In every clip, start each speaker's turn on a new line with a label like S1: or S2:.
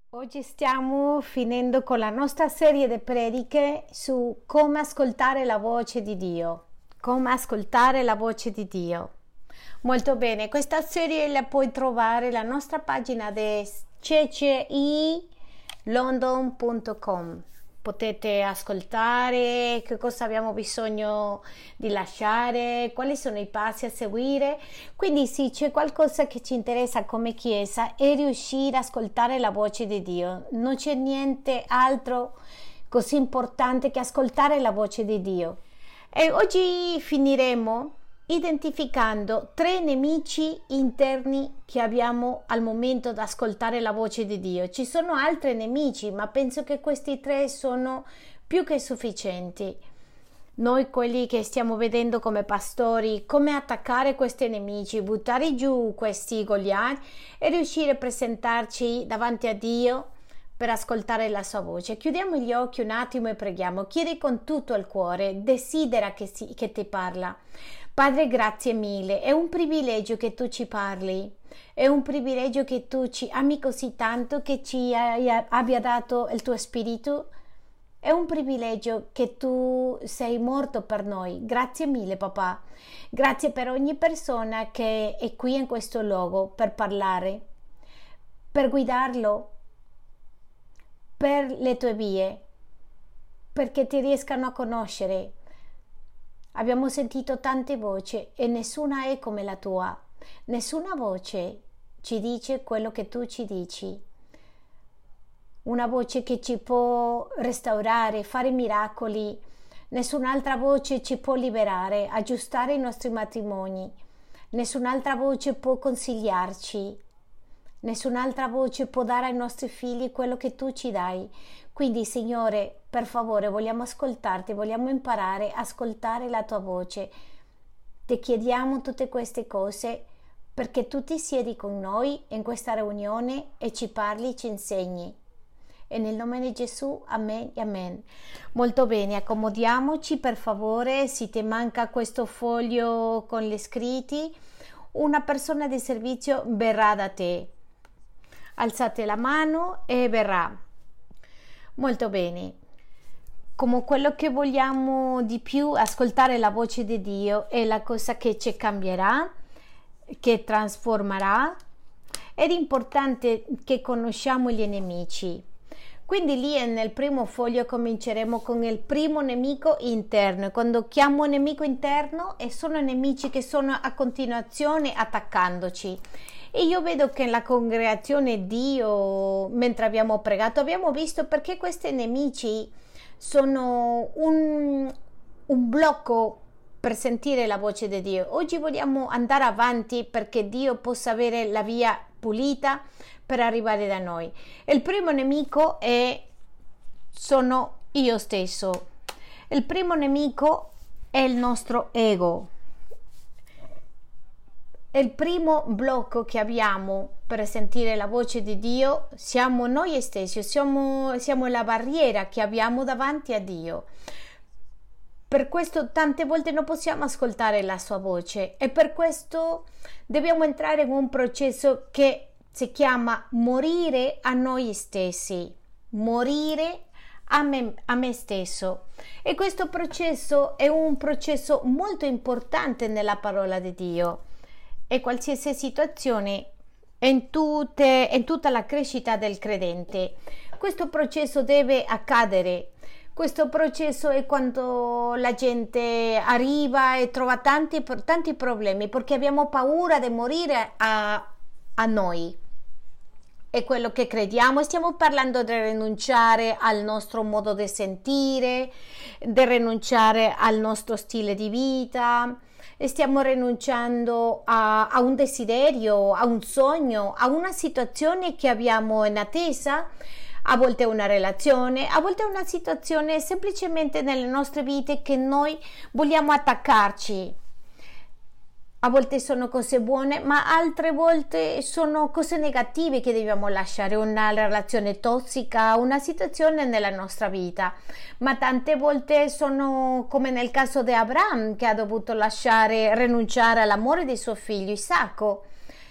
S1: Oggi stiamo finendo con la nostra serie di prediche su come ascoltare la voce di Dio. Come ascoltare la voce di Dio. Molto bene, questa serie la puoi trovare sulla nostra pagina di ccilondon.com. Potete ascoltare che cosa abbiamo bisogno di lasciare, quali sono i passi a seguire. Quindi se c'è qualcosa che ci interessa come Chiesa è riuscire ad ascoltare la voce di Dio. Non c'è niente altro così importante che ascoltare la voce di Dio. E oggi finiremo identificando 3 nemici interni che abbiamo al momento di ascoltare la voce di Dio. Ci sono altri nemici, ma penso che questi 3 sono più che sufficienti. Noi quelli che stiamo vedendo come pastori, come attaccare questi nemici, buttare giù questi Goliat e riuscire a presentarci davanti a Dio per ascoltare la sua voce. Chiudiamo gli occhi un attimo e preghiamo. Chiedi con tutto il cuore, desidera che ti parla. Padre, grazie mille, è un privilegio che tu ci parli, è un privilegio che tu ci ami così tanto, che ci abbia dato il tuo spirito, è un privilegio che tu sei morto per noi. Grazie mille, papà. Grazie per ogni persona che è qui in questo luogo per parlare, per guidarlo per le tue vie, perché ti riescano a conoscere. Abbiamo sentito tante voci e nessuna è come la tua. Nessuna voce ci dice quello che tu ci dici. Una voce che ci può restaurare, fare miracoli. Nessun'altra voce ci può liberare, aggiustare i nostri matrimoni. Nessun'altra voce può consigliarci. Nessun'altra voce può dare ai nostri figli quello che tu ci dai. Quindi, Signore, per favore, vogliamo ascoltarti, vogliamo imparare a ascoltare la tua voce. Ti chiediamo tutte queste cose perché tu ti siedi con noi in questa riunione e ci parli, ci insegni. E nel nome di Gesù, amen e amen. Molto bene, accomodiamoci per favore. Se ti manca questo foglio con gli scritti, una persona di servizio verrà da te. Alzate la mano e verrà. Molto bene. Come quello che vogliamo di più, ascoltare la voce di Dio è la cosa che ci cambierà, che trasformerà. Ed è importante che conosciamo gli nemici. Quindi lì nel primo foglio cominceremo con il primo nemico interno. Quando chiamo nemico interno sono nemici che sono a continuazione attaccandoci. E io vedo che nella congregazione Dio, mentre abbiamo pregato, abbiamo visto perché questi nemici sono un blocco per sentire la voce di Dio. Oggi vogliamo andare avanti perché Dio possa avere la via pulita per arrivare da noi. Il primo nemico sono io stesso. Il primo nemico è il nostro ego. Il primo blocco che abbiamo per sentire la voce di Dio siamo noi stessi, siamo la barriera che abbiamo davanti a Dio. Per questo tante volte non possiamo ascoltare la sua voce e per questo dobbiamo entrare in un processo che si chiama morire a noi stessi, morire a me stesso. E questo processo è un processo molto importante nella parola di Dio. E qualsiasi situazione in tutta la crescita del credente. Questo processo deve accadere. Questo processo è quando la gente arriva e trova tanti problemi perché abbiamo paura di morire a noi. È quello che crediamo. Stiamo parlando di rinunciare al nostro modo di sentire, di rinunciare al nostro stile di vita. Stiamo rinunciando a un desiderio, a un sogno, a una situazione che abbiamo in attesa, a volte una relazione, a volte una situazione semplicemente nelle nostre vite che noi vogliamo attaccarci. A volte sono cose buone, ma altre volte sono cose negative che dobbiamo lasciare, una relazione tossica, una situazione nella nostra vita. Ma tante volte sono come nel caso di Abramo, che ha dovuto rinunciare all'amore di suo figlio Isacco.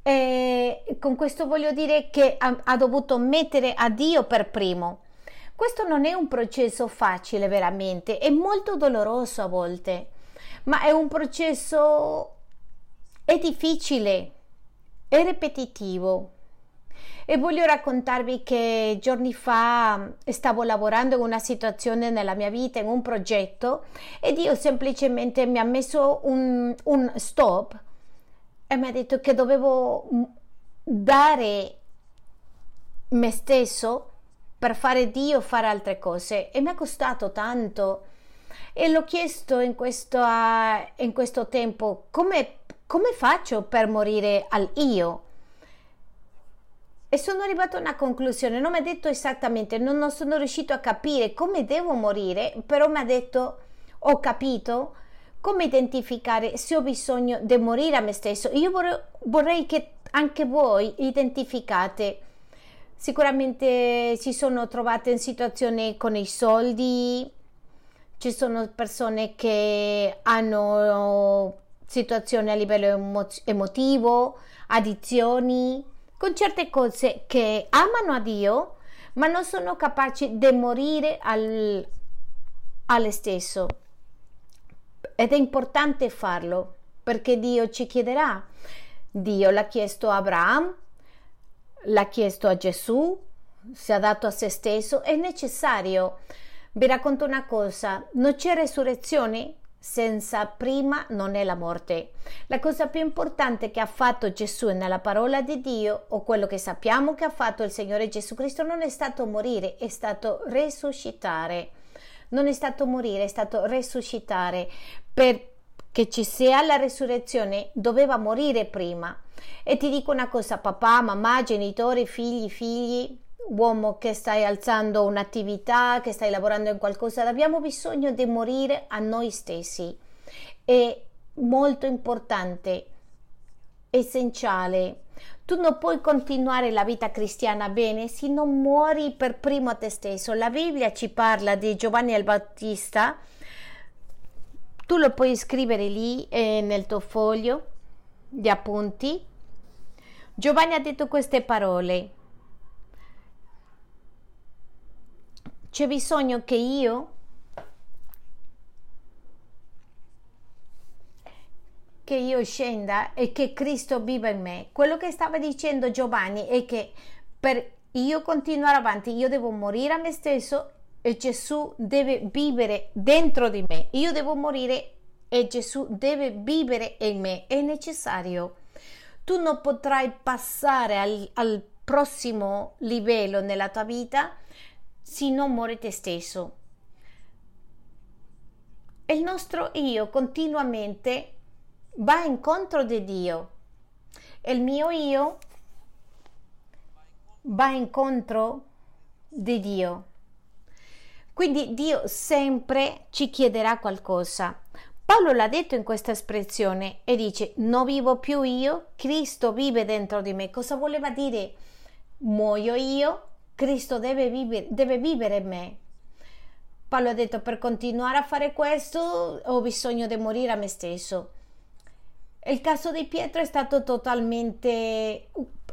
S1: E con questo voglio dire che ha dovuto mettere a Dio per primo. Questo non è un processo facile veramente, è molto doloroso a volte, ma è un processo, è difficile, è ripetitivo. E voglio raccontarvi che giorni fa stavo lavorando in una situazione nella mia vita, in un progetto, e Dio semplicemente mi ha messo un stop e mi ha detto che dovevo dare me stesso per fare Dio, fare altre cose, e mi è costato tanto. E l'ho chiesto in questo tempo, come faccio per morire al io? E sono arrivata a una conclusione, non mi ha detto esattamente, non sono riuscito a capire come devo morire, però mi ha detto, ho capito come identificare se ho bisogno di morire a me stesso. Io vorrei che anche voi identificate. Sicuramente si sono trovate in situazioni con i soldi, ci sono persone che hanno situazioni a livello emotivo, addizioni, con certe cose che amano a Dio, ma non sono capaci di morire alle stesso. Ed è importante farlo, perché Dio ci chiederà. Dio l'ha chiesto a Abramo, l'ha chiesto a Gesù, si è dato a se stesso, è necessario. Vi racconto una cosa, non c'è resurrezione senza prima non è la morte. La cosa più importante che ha fatto Gesù nella parola di Dio, o quello che sappiamo che ha fatto il Signore Gesù Cristo, non è stato morire, è stato resuscitare. Non è stato morire, è stato resuscitare. Perché ci sia la resurrezione doveva morire prima. E ti dico una cosa, papà, mamma, genitori, figli, uomo che stai alzando un'attività, che stai lavorando in qualcosa, abbiamo bisogno di morire a noi stessi. È molto importante, essenziale. Tu non puoi continuare la vita cristiana bene se non muori per primo a te stesso. La Bibbia ci parla di Giovanni il Battista, tu lo puoi scrivere lì nel tuo foglio di appunti. Giovanni ha detto queste parole: c'è bisogno che io scenda e che Cristo viva in me. Quello che stava dicendo Giovanni è che per io continuare avanti io devo morire a me stesso e Gesù deve vivere dentro di me. Io devo morire e Gesù deve vivere in me. È necessario. Tu non potrai passare al prossimo livello nella tua vita se non muori te stesso. E il nostro io continuamente va incontro di Dio. E il mio io va incontro di Dio. Quindi Dio sempre ci chiederà qualcosa. Paolo l'ha detto in questa espressione e dice: non vivo più io, Cristo vive dentro di me. Cosa voleva dire? Muoio io, Cristo deve vivere in me. Paolo ha detto: per continuare a fare questo ho bisogno di morire a me stesso. Il caso di Pietro è stato totalmente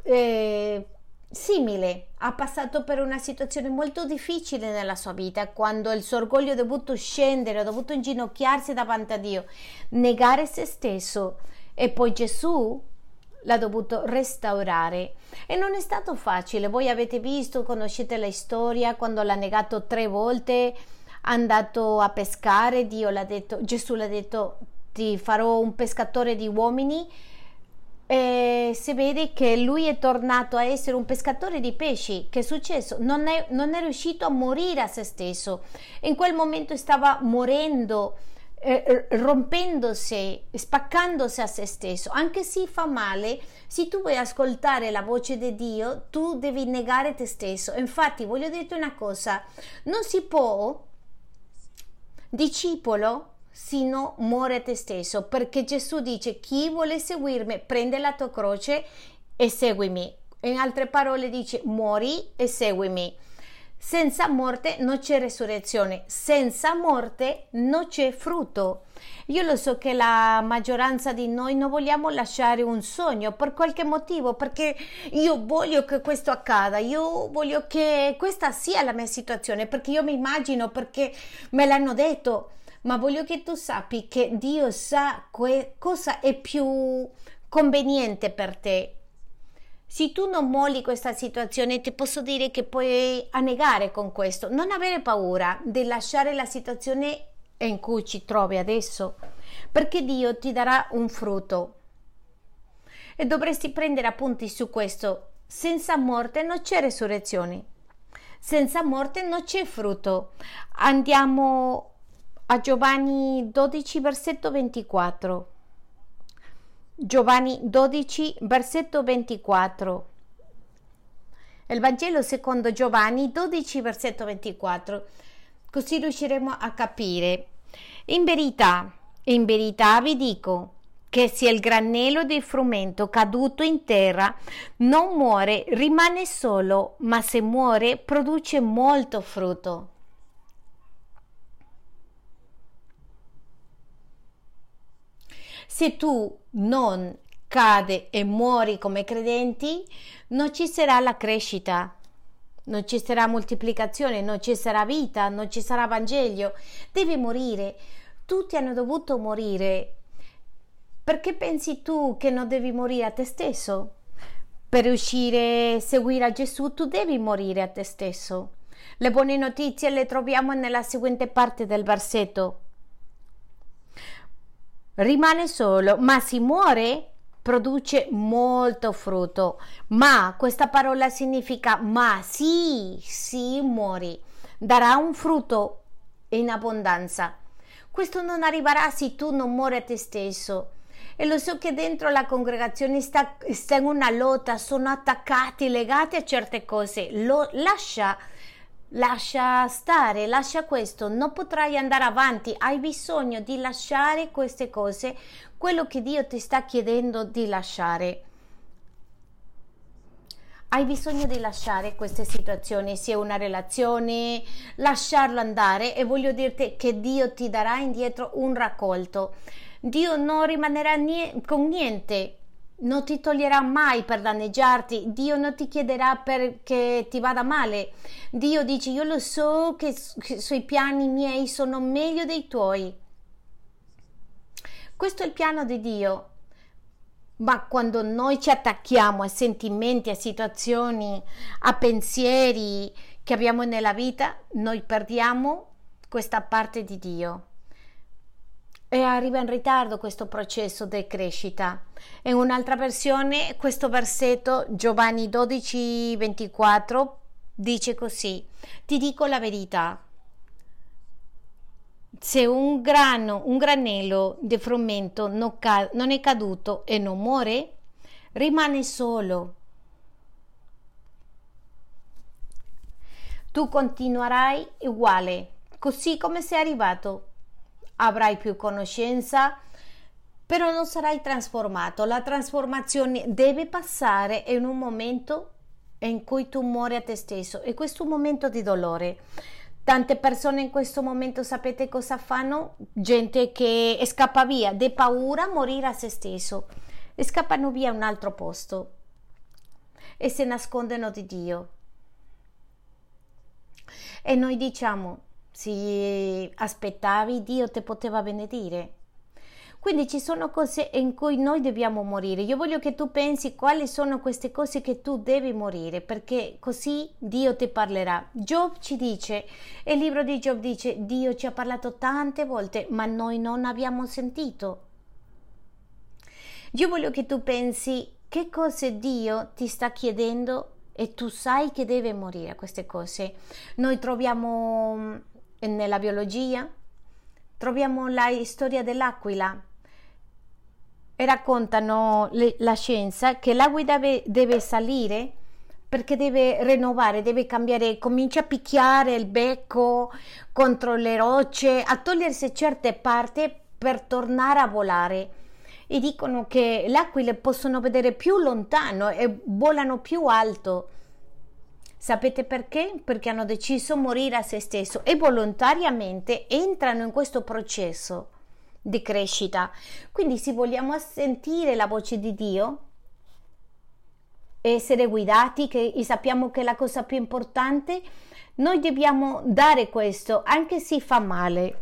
S1: simile. Ha passato per una situazione molto difficile nella sua vita, quando il suo orgoglio ha dovuto scendere, ha dovuto inginocchiarsi davanti a Dio, negare se stesso, e poi Gesù l'ha dovuto restaurare. E non è stato facile. Voi avete visto, conoscete la storia, quando l'ha negato 3 volte, è andato a pescare, Gesù l'ha detto: ti farò un pescatore di uomini. E si vede che lui è tornato a essere un pescatore di pesci. Che è successo? Non è riuscito a morire a se stesso. In quel momento stava morendo, rompendosi, spaccandosi a se stesso. Anche se fa male, se tu vuoi ascoltare la voce di Dio, tu devi negare te stesso. Infatti voglio dirti una cosa: non si può discepolo se no muore te stesso, perché Gesù dice: chi vuole seguirmi prende la tua croce e seguimi. In altre parole dice: muori e seguimi. Senza morte non c'è resurrezione, senza morte non c'è frutto. Io lo so che la maggioranza di noi non vogliamo lasciare un sogno per qualche motivo, perché io voglio che questo accada, io voglio che questa sia la mia situazione, perché io mi immagino, perché me l'hanno detto, ma voglio che tu sappi che Dio sa cosa è più conveniente per te. Se tu non molli questa situazione, ti posso dire che puoi annegare con questo. Non avere paura di lasciare la situazione in cui ci trovi adesso, perché Dio ti darà un frutto. E dovresti prendere appunti su questo. Senza morte non c'è resurrezione. Senza morte non c'è frutto. Andiamo a Giovanni 12, versetto 24. Giovanni 12, versetto 24. Il Vangelo secondo Giovanni 12, versetto 24. Così riusciremo a capire. In verità vi dico che se il granello di frumento caduto in terra non muore, rimane solo, ma se muore produce molto frutto. Se tu non cade e muori come credenti, non ci sarà la crescita, non ci sarà moltiplicazione, non ci sarà vita, non ci sarà Vangelo. Devi morire. Tutti hanno dovuto morire. Perché pensi tu che non devi morire a te stesso? Per riuscire a seguire a Gesù, tu devi morire a te stesso. Le buone notizie le troviamo nella seguente parte del versetto. Rimane solo, ma si muore, produce molto frutto. Ma questa parola significa ma, sì, muori, darà un frutto in abbondanza. Questo non arriverà se tu non muori a te stesso. E lo so che dentro la congregazione sta in una lotta, sono attaccati, legati a certe cose. Lascia stare, lascia questo, non potrai andare avanti, hai bisogno di lasciare queste cose, quello che Dio ti sta chiedendo di lasciare. Hai bisogno di lasciare queste situazioni, sia una relazione, lasciarlo andare, e voglio dirti che Dio ti darà indietro un raccolto. Dio non rimanerà con niente. Non ti toglierà mai per danneggiarti. Dio non ti chiederà perché ti vada male. Dio dice: io lo so che sui piani miei sono meglio dei tuoi. Questo è il piano di Dio. Ma quando noi ci attacchiamo a sentimenti, a situazioni, a pensieri che abbiamo nella vita, noi perdiamo questa parte di Dio. E arriva in ritardo questo processo di crescita. In un'altra versione, questo versetto, Giovanni 12, 24, dice così: ti dico la verità, se un granello di frumento non è caduto e non muore, rimane solo. Tu continuerai uguale, così come sei arrivato. Avrai più conoscenza, però non sarai trasformato. La trasformazione deve passare in un momento in cui tu muori a te stesso, e questo è un momento di dolore. Tante persone in questo momento sapete cosa fanno? Gente che scappa via, di paura a morire a se stesso, e scappano via a un altro posto e si nascondono di Dio. E noi diciamo: se aspettavi, Dio ti poteva benedire. Quindi ci sono cose in cui noi dobbiamo morire. Io voglio che tu pensi quali sono queste cose che tu devi morire, perché così Dio ti parlerà. Giоб ci dice, il libro di Giоб dice: Dio ci ha parlato tante volte, ma noi non abbiamo sentito. Io voglio che tu pensi che cose Dio ti sta chiedendo e tu sai che deve morire queste cose. Noi troviamo nella biologia, troviamo la storia dell'aquila, e raccontano la scienza che l'acqua deve salire perché deve rinnovare, deve cambiare, comincia a picchiare il becco contro le rocce, a togliersi certe parti per tornare a volare. E dicono che le aquile possono vedere più lontano e volano più alto. Sapete perché? Perché hanno deciso morire a se stesso e volontariamente entrano in questo processo di crescita. Quindi se vogliamo sentire la voce di Dio, essere guidati, e sappiamo che è la cosa più importante, noi dobbiamo dare questo, anche se fa male.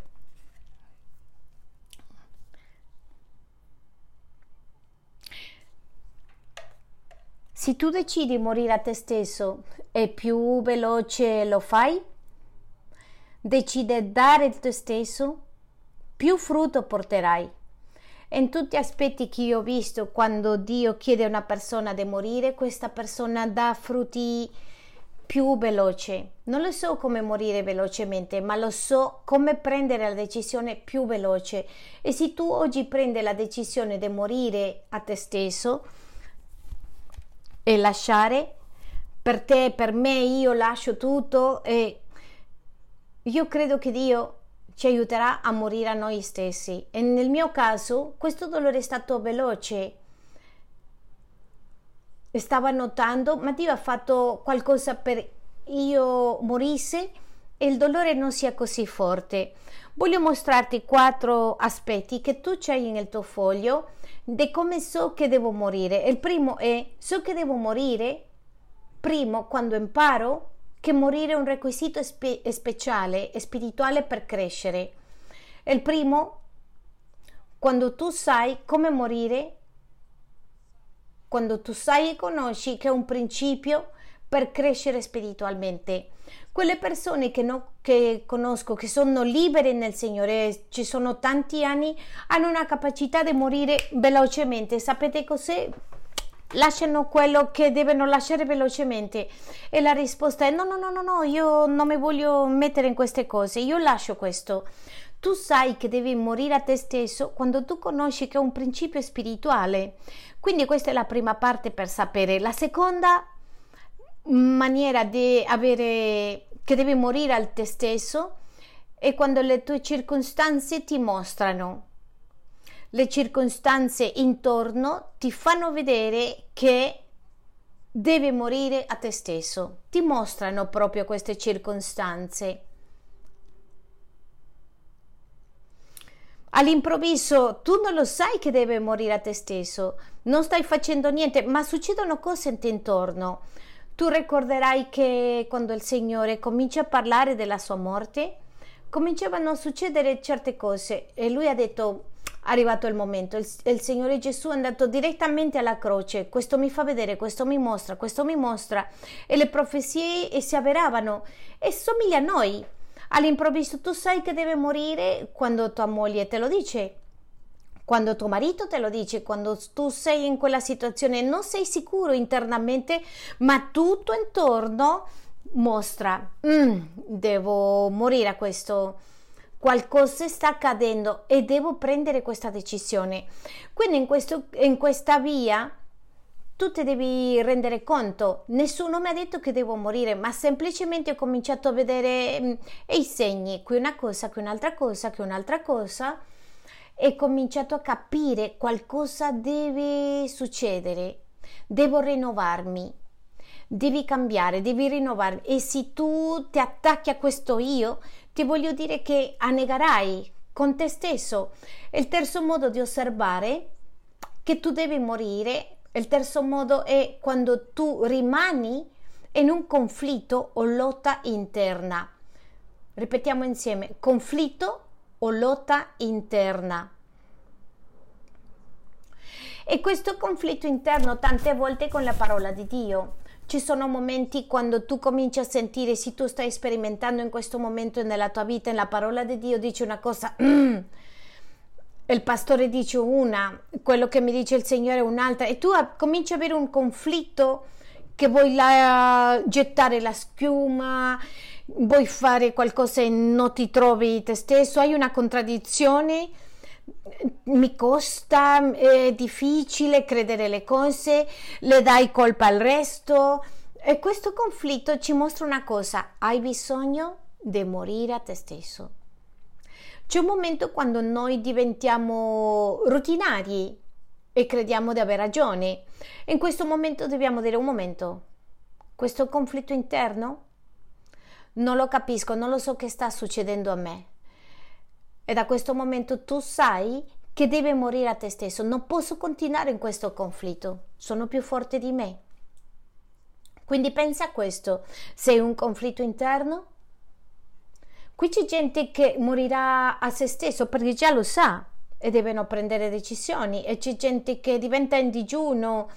S1: Se tu decidi morire a te stesso e più veloce lo fai, decide dare te stesso, più frutto porterai. In tutti gli aspetti che io ho visto, quando Dio chiede a una persona di morire, questa persona dà frutti più veloci. Non lo so come morire velocemente, ma lo so come prendere la decisione più veloce. E se tu oggi prendi la decisione di morire a te stesso e lasciare, per te, per me, io lascio tutto, e io credo che Dio ci aiuterà a morire a noi stessi. E nel mio caso questo dolore è stato veloce, stavo notando, ma Dio ha fatto qualcosa per io morisse e il dolore non sia così forte. Voglio mostrarti 4 aspetti che tu c'hai nel tuo foglio di come so che devo morire. Il primo è: so che devo morire primo quando imparo che morire è un requisito speciale e spirituale per crescere. Il primo, quando tu sai come morire, quando tu sai e conosci che è un principio per crescere spiritualmente. Quelle persone che conosco, che sono libere nel Signore, ci sono tanti anni, hanno una capacità di morire velocemente. Sapete cos'è? Lasciano quello che devono lasciare velocemente, e la risposta è no, io non mi voglio mettere in queste cose, io lascio questo. Tu sai che devi morire a te stesso quando tu conosci che è un principio spirituale. Quindi questa è la prima parte per sapere. La seconda maniera di avere che devi morire a te stesso è quando le tue circostanze ti mostrano. Le circostanze intorno ti fanno vedere che devi morire a te stesso, ti mostrano proprio queste circostanze. All'improvviso tu non lo sai che devi morire a te stesso, non stai facendo niente, ma succedono cose intorno. Tu ricorderai che quando il Signore comincia a parlare della sua morte, cominciavano a succedere certe cose e lui ha detto: arrivato il momento, il Signore Gesù è andato direttamente alla croce, questo mi fa vedere, questo mi mostra, e le profezie si avveravano e somiglia a noi. All'improvviso tu sai che deve morire quando tua moglie te lo dice, quando tuo marito te lo dice, quando tu sei in quella situazione, non sei sicuro internamente, ma tutto intorno mostra: devo morire a questo, qualcosa sta accadendo e devo prendere questa decisione. Quindi in questa via tu ti devi rendere conto, nessuno mi ha detto che devo morire, ma semplicemente ho cominciato a vedere i segni, qui una cosa, qui un'altra cosa, qui un'altra cosa, e ho cominciato a capire qualcosa deve succedere, devo rinnovarmi, devi cambiare, devi rinnovarmi. E se tu ti attacchi a questo io, ti voglio dire che annegherai con te stesso. Il terzo modo di osservare che tu devi morire, il terzo modo è quando tu rimani in un conflitto o lotta interna. Ripetiamo insieme: conflitto o lotta interna. E questo conflitto interno tante volte con la parola di Dio. Ci sono momenti quando tu cominci a sentire, se tu stai sperimentando in questo momento nella tua vita, la parola di Dio dice una cosa, il pastore dice una, quello che mi dice il Signore è un'altra, e tu cominci a avere un conflitto che vuoi gettare la schiuma, vuoi fare qualcosa e non ti trovi te stesso, hai una contraddizione. Mi costa, è difficile credere le cose, le dai colpa al resto, e questo conflitto ci mostra una cosa: hai bisogno di morire a te stesso. C'è un momento quando noi diventiamo rutinari e crediamo di aver ragione. In questo momento dobbiamo dire: un momento, questo conflitto interno? Non lo capisco, non lo so che sta succedendo a me. E da questo momento tu sai che devi morire a te stesso. Non posso continuare in questo conflitto. Sono più forte di me. Quindi pensa a questo. Sei un conflitto interno? Qui c'è gente che morirà a se stesso perché già lo sa e devono prendere decisioni. E c'è gente che diventa in digiuno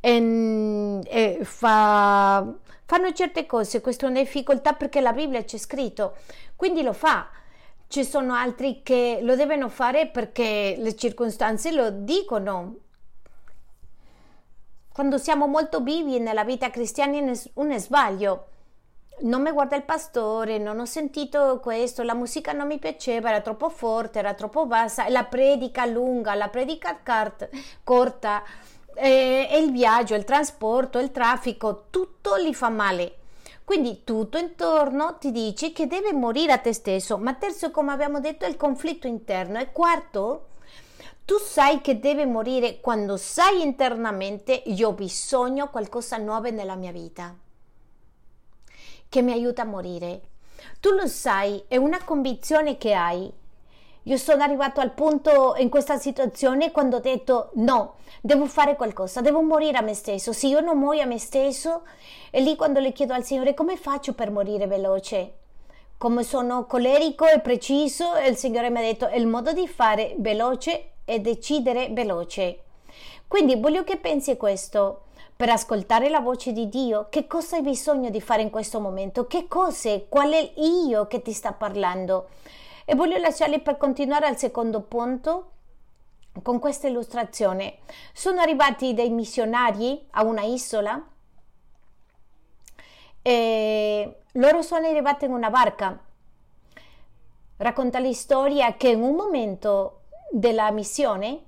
S1: e fanno certe cose. Questa è una difficoltà perché la Bibbia c'è scritto. Quindi lo fa. Ci sono altri che lo devono fare perché le circostanze lo dicono. Quando siamo molto vivi nella vita cristiana un sbaglio. Non mi guarda il pastore, non ho sentito questo, la musica non mi piaceva, era troppo forte, era troppo bassa, la predica lunga, la predica corta, e il viaggio, il trasporto, il traffico, tutto gli fa male. Quindi tutto intorno ti dice che deve morire a te stesso. Ma terzo, come abbiamo detto, è il conflitto interno. E quarto, tu sai che deve morire quando sai internamente io ho bisogno di qualcosa nuovo nella mia vita che mi aiuta a morire. Tu lo sai, è una convinzione che hai. Io sono arrivato al punto in questa situazione quando ho detto no, devo fare qualcosa, devo morire a me stesso. Se io non muoio a me stesso, è lì quando le chiedo al Signore come faccio per morire veloce. Come sono colerico e preciso, e il Signore mi ha detto il modo di fare veloce è decidere veloce. Quindi voglio che pensi questo. Per ascoltare la voce di Dio, che cosa hai bisogno di fare in questo momento? Che cose? Qual è io che ti sta parlando? E voglio lasciarli per continuare al secondo punto con questa illustrazione. Sono arrivati dei missionari a una isola e loro sono arrivati in una barca. Racconta la storia che in un momento della missione,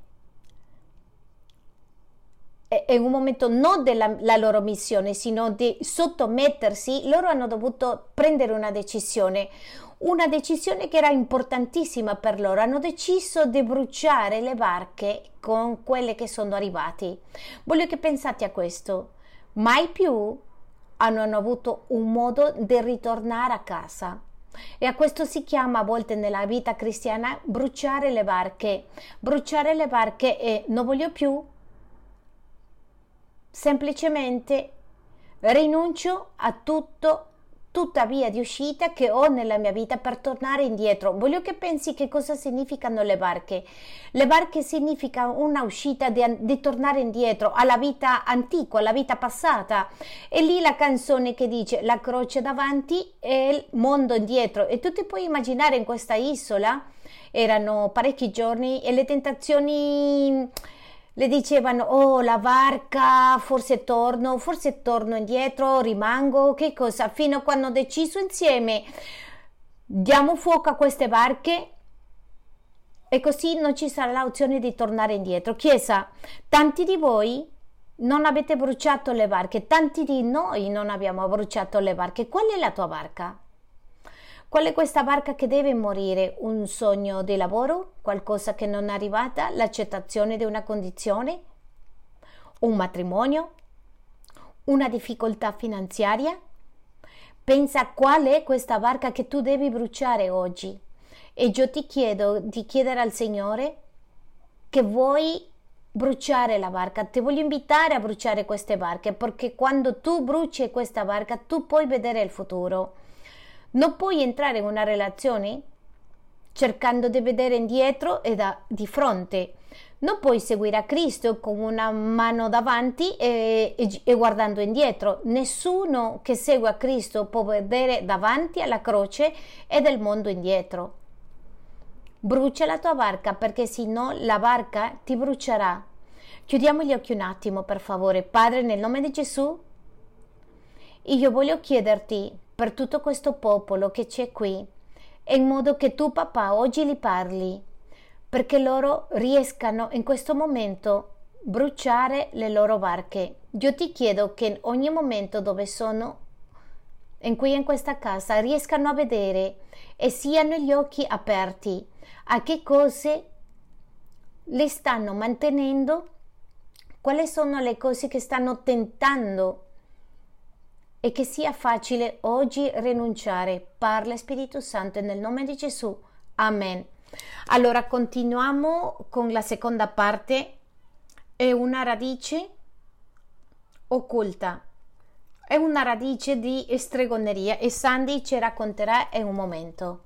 S1: in un momento non della la loro missione, sino di sottomettersi, loro hanno dovuto prendere una decisione che era importantissima per loro. Hanno deciso di bruciare le barche con quelle che sono arrivati. Voglio che pensate a questo. Mai più hanno avuto un modo di ritornare a casa. E a questo si chiama a volte nella vita cristiana bruciare le barche. Bruciare le barche e non voglio più. Semplicemente rinuncio a tutta via di uscita che ho nella mia vita per tornare indietro. Voglio che pensi che cosa significano le barche. Le barche significa una uscita di tornare indietro alla vita antica, alla vita passata. E lì la canzone che dice la croce davanti e il mondo indietro. E tu ti puoi immaginare in questa isola, erano parecchi giorni e le tentazioni le dicevano, oh la barca, forse torno indietro, rimango, che cosa? Fino a quando hanno deciso insieme, diamo fuoco a queste barche e così non ci sarà l'opzione di tornare indietro. Chiesa, tanti di voi non avete bruciato le barche, tanti di noi non abbiamo bruciato le barche. Qual è la tua barca? Qual è questa barca che deve morire? Un sogno di lavoro? Qualcosa che non è arrivata? L'accettazione di una condizione? Un matrimonio? Una difficoltà finanziaria? Pensa a qual è questa barca che tu devi bruciare oggi. E io ti chiedo di chiedere al Signore che vuoi bruciare la barca. Ti voglio invitare a bruciare queste barche, perché quando tu bruci questa barca tu puoi vedere il futuro. Non puoi entrare in una relazione cercando di vedere indietro e di fronte. Non puoi seguire a Cristo con una mano davanti e guardando indietro. Nessuno che segue a Cristo può vedere davanti alla croce e del mondo indietro. Brucia la tua barca, perché se no la barca ti brucerà. Chiudiamo gli occhi un attimo, per favore. Padre, nel nome di Gesù, io voglio chiederti per tutto questo popolo che c'è qui, e in modo che tu, papà, oggi li parli, perché loro riescano in questo momento bruciare le loro barche. Io ti chiedo che in ogni momento dove sono, in questa casa, riescano a vedere e siano gli occhi aperti a che cose le stanno mantenendo, quali sono le cose che stanno tentando e che sia facile oggi rinunciare. Parla Spirito Santo nel nome di Gesù. Amen. Allora continuiamo con la seconda parte. È una radice occulta. È una radice di stregoneria e Sandy ci racconterà in un momento.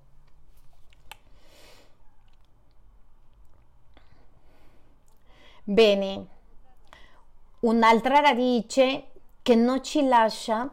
S1: Bene, un'altra radice che non ci lascia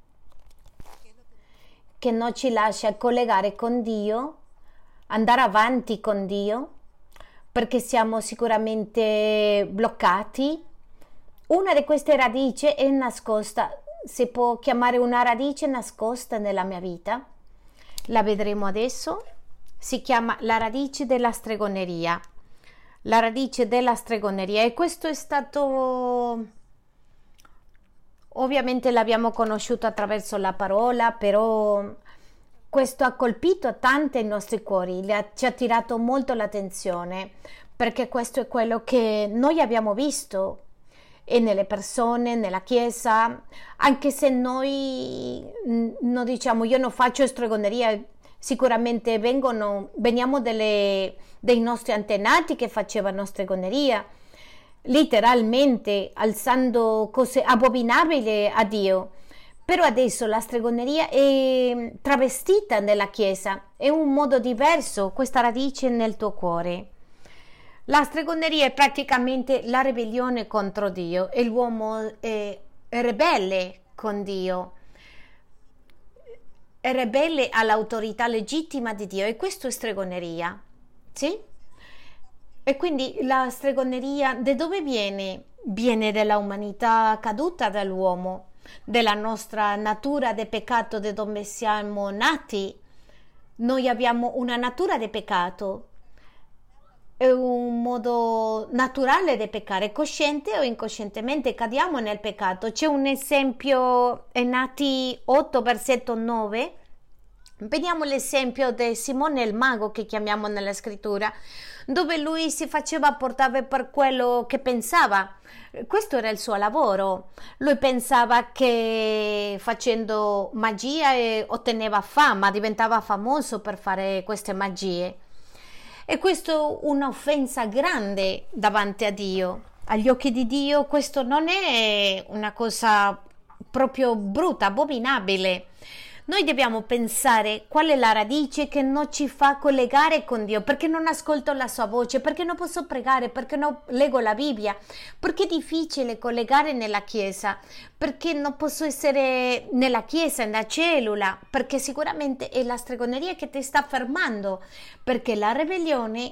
S1: collegare con Dio, andare avanti con Dio, perché siamo sicuramente bloccati. Una di queste radici è nascosta, si può chiamare una radice nascosta nella mia vita, la vedremo adesso, si chiama la radice della stregoneria. La radice della stregoneria, e questo è stato, ovviamente l'abbiamo conosciuto attraverso la parola, però questo ha colpito tanto i nostri cuori, ci ha tirato molto l'attenzione, perché questo è quello che noi abbiamo visto e nelle persone, nella chiesa, anche se noi non diciamo io non faccio stregoneria, sicuramente veniamo dei nostri antenati che facevano stregoneria, letteralmente alzando cose abominabili a Dio. Però adesso la stregoneria è travestita nella Chiesa, è un modo diverso, questa radice nel tuo cuore. La stregoneria è praticamente la ribellione contro Dio e l'uomo è ribelle con Dio, è ribelle all'autorità legittima di Dio, e questo è stregoneria, sì? E quindi la stregoneria da dove viene? Viene dalla umanità caduta dall'uomo, della nostra natura di peccato, da dove siamo nati. Noi abbiamo una natura di peccato, è un modo naturale di peccare, cosciente o incoscientemente cadiamo nel peccato. C'è un esempio in Atti 8 versetto 9, vediamo l'esempio di Simone il mago che chiamiamo nella scrittura, dove lui si faceva portare per quello che pensava. Questo era il suo lavoro. Lui pensava che facendo magia otteneva fama, diventava famoso per fare queste magie. E questo è un'offensa grande davanti a Dio. Agli occhi di Dio questo non è una cosa proprio brutta, abominabile. Noi dobbiamo pensare qual è la radice che non ci fa collegare con Dio, perché non ascolto la sua voce, perché non posso pregare, perché non leggo la Bibbia, perché è difficile collegare nella Chiesa, perché non posso essere nella Chiesa, nella cellula, perché sicuramente è la stregoneria che ti sta fermando, perché la ribellione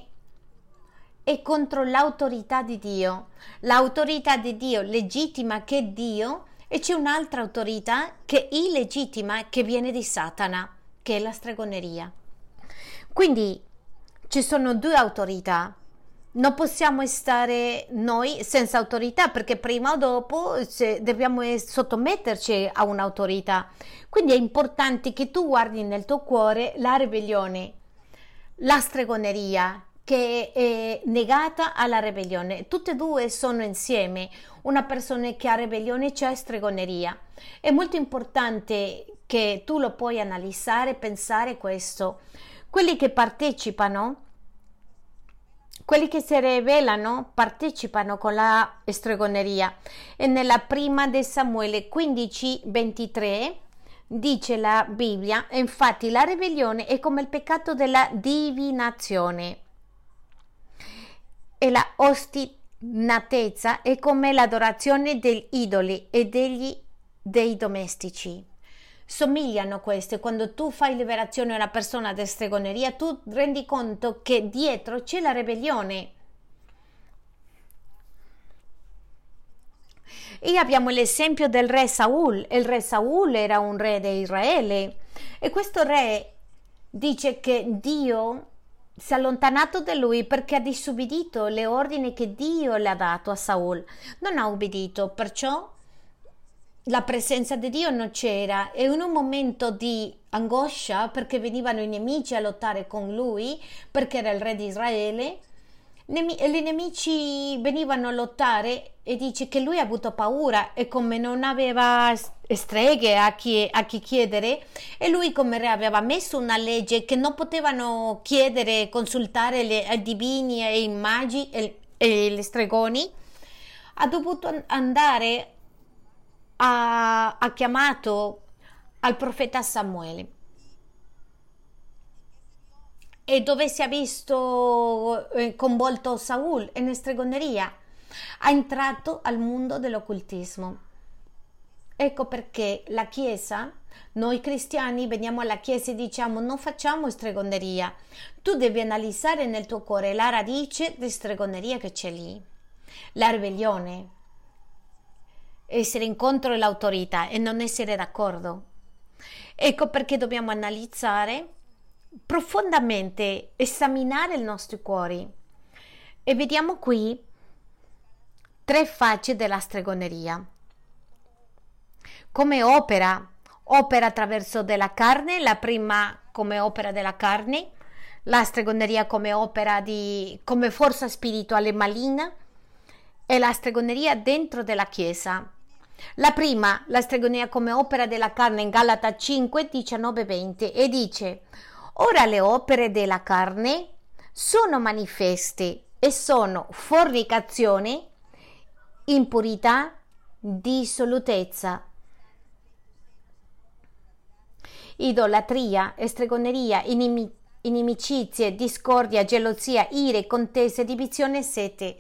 S1: è contro l'autorità di Dio legittima che è Dio. E c'è un'altra autorità che è illegittima, che viene di Satana, che è la stregoneria. Quindi ci sono due autorità. Non possiamo stare noi senza autorità, perché prima o dopo dobbiamo sottometterci a un'autorità. Quindi è importante che tu guardi nel tuo cuore la ribellione, la stregoneria, che è negata alla ribellione. Tutte e due sono insieme. Una persona che ha ribellione c'è stregoneria. È molto importante che tu lo puoi analizzare, pensare questo. Quelli che partecipano, quelli che si ribellano, partecipano con la stregoneria. E nella prima di Samuele 15:23 dice la Bibbia, infatti la ribellione è come il peccato della divinazione, e la ostinatezza è come l'adorazione degli idoli e dei domestici. Somigliano queste. Quando tu fai liberazione a una persona di stregoneria, tu rendi conto che dietro c'è la ribellione. E abbiamo l'esempio del re Saul. Il re Saul era un re di Israele, e questo re dice che Dio si è allontanato da lui perché ha disubbidito le ordini che Dio le ha dato a Saul. Non ha ubbidito, perciò la presenza di Dio non c'era, e in un momento di angoscia, perché venivano i nemici a lottare con lui, perché era il re di Israele, I nemici venivano a lottare e dice che lui ha avuto paura e come non aveva streghe a chi chiedere e lui come re aveva messo una legge che non potevano chiedere, consultare ai divini e ai magi e gli stregoni, ha dovuto andare, ha chiamato al profeta Samuele. E dove si è visto coinvolto Saul in stregoneria, ha entrato al mondo dell'occultismo. Ecco perché la Chiesa, noi cristiani veniamo alla Chiesa e diciamo non facciamo stregoneria, tu devi analizzare nel tuo cuore la radice di stregoneria che c'è lì, la ribellione, essere in contro l'autorità e non essere d'accordo. Ecco perché dobbiamo analizzare profondamente, esaminare i nostri cuori e vediamo qui 3 facce della stregoneria. Come opera attraverso della carne, la prima come opera della carne, la stregoneria come opera come forza spirituale maligna e la stregoneria dentro della Chiesa. La prima, la stregoneria come opera della carne in Galata 5, 19, 20 e dice: ora le opere della carne sono manifeste e sono fornicazione, impurità, dissolutezza, idolatria, stregoneria, inimicizie, discordia, gelosia, ire, contese, divisione e sete.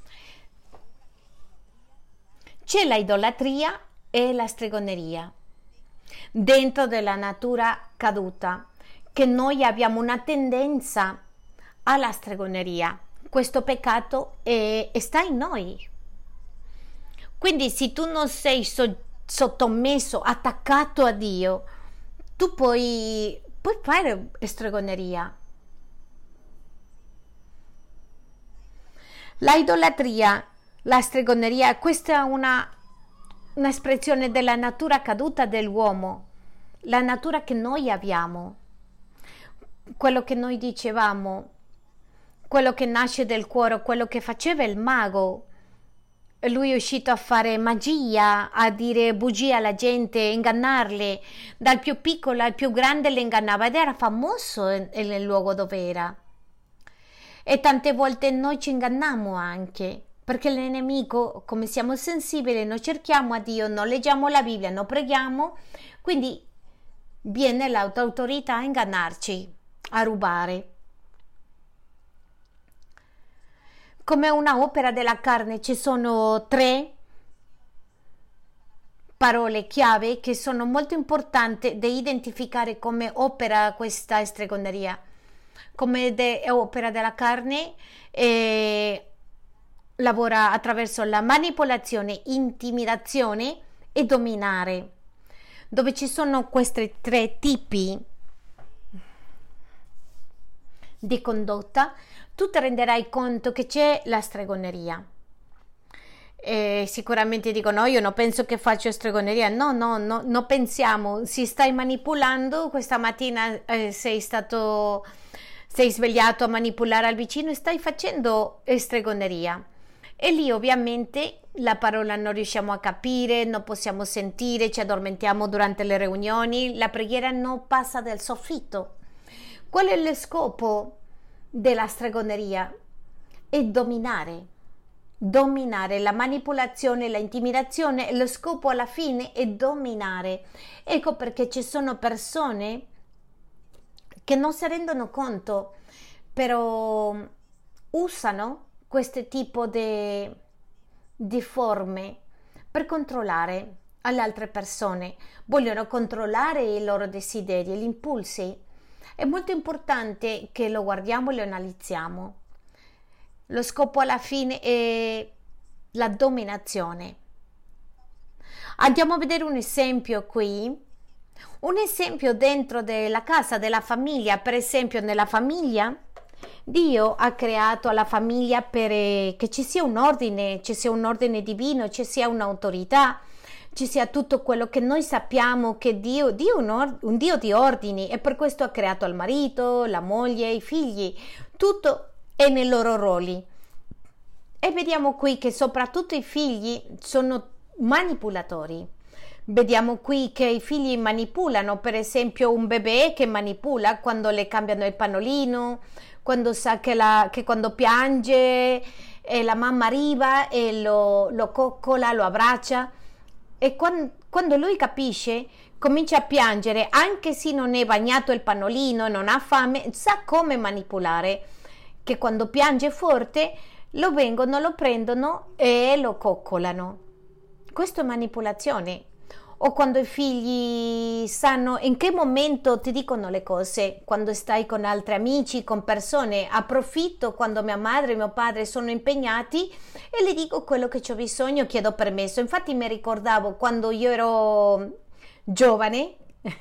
S1: C'è la idolatria e la stregoneria dentro della natura caduta, che noi abbiamo una tendenza alla stregoneria. Questo peccato sta in noi. Quindi se tu non sei sottomesso, attaccato a Dio, tu puoi fare stregoneria. La idolatria, la stregoneria, questa è un'espressione della natura caduta dell'uomo, la natura che noi abbiamo. Quello che noi dicevamo, quello che nasce del cuore, quello che faceva il mago. Lui è uscito a fare magia, a dire bugie alla gente, ingannarle. Dal più piccolo al più grande le ingannava ed era famoso nel luogo dove era. E tante volte noi ci inganniamo anche, perché il nemico, come siamo sensibili, noi cerchiamo a Dio, non leggiamo la Bibbia, non preghiamo, quindi viene l'autorità a ingannarci, a rubare. Come una opera della carne ci sono 3 parole chiave che sono molto importanti da identificare come opera questa stregoneria. Come opera della carne lavora attraverso la manipolazione, intimidazione e dominare. Dove ci sono questi 3 tipi di condotta, tu ti renderai conto che c'è la stregoneria. Sicuramente dico no, io non penso che faccio stregoneria. No, pensiamo, si stai manipolando. Questa mattina sei svegliato a manipolare al vicino e stai facendo stregoneria. E lì ovviamente la parola non riusciamo a capire, non possiamo sentire, ci addormentiamo durante le riunioni, la preghiera non passa del soffitto. Qual è lo scopo della stregoneria? È dominare, la manipolazione, la intimidazione, lo scopo alla fine è dominare. Ecco perché ci sono persone che non si rendono conto, però usano questo tipo di forme per controllare alle altre persone, vogliono controllare i loro desideri, gli impulsi. È molto importante che lo guardiamo e lo analizziamo. Lo scopo alla fine è la dominazione. Andiamo a vedere un esempio qui. Un esempio dentro della casa, della famiglia. Per esempio nella famiglia Dio ha creato la famiglia per che ci sia un ordine divino, ci sia un'autorità, ci sia tutto quello che noi sappiamo che Dio è un Dio di ordini, e per questo ha creato il marito, la moglie, i figli, tutto è nei loro ruoli. E vediamo qui che soprattutto i figli sono manipolatori. Vediamo qui che i figli manipolano, per esempio un bebè che manipola quando le cambiano il pannolino, quando sa che quando piange la mamma arriva e lo coccola, lo abbraccia, e quando lui capisce comincia a piangere, anche se non è bagnato il pannolino e non ha fame, sa come manipolare, che quando piange forte lo vengono, lo prendono e lo coccolano. Questo è manipolazione. O quando i figli sanno in che momento ti dicono le cose, quando stai con altri amici, con persone, approfitto quando mia madre e mio padre sono impegnati e le dico quello che ho bisogno, chiedo permesso. Infatti mi ricordavo quando io ero giovane,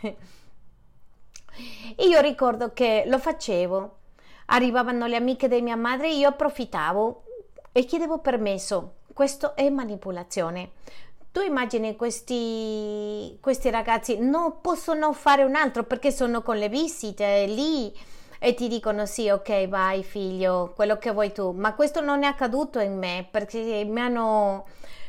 S1: io ricordo che lo facevo, arrivavano le amiche di mia madre, io approfittavo e chiedevo permesso. Questo è manipolazione. Tu immagini questi ragazzi non possono fare un altro perché sono con le visite lì e ti dicono sì, ok, vai figlio, quello che vuoi tu, ma questo non è accaduto in me perché mi hanno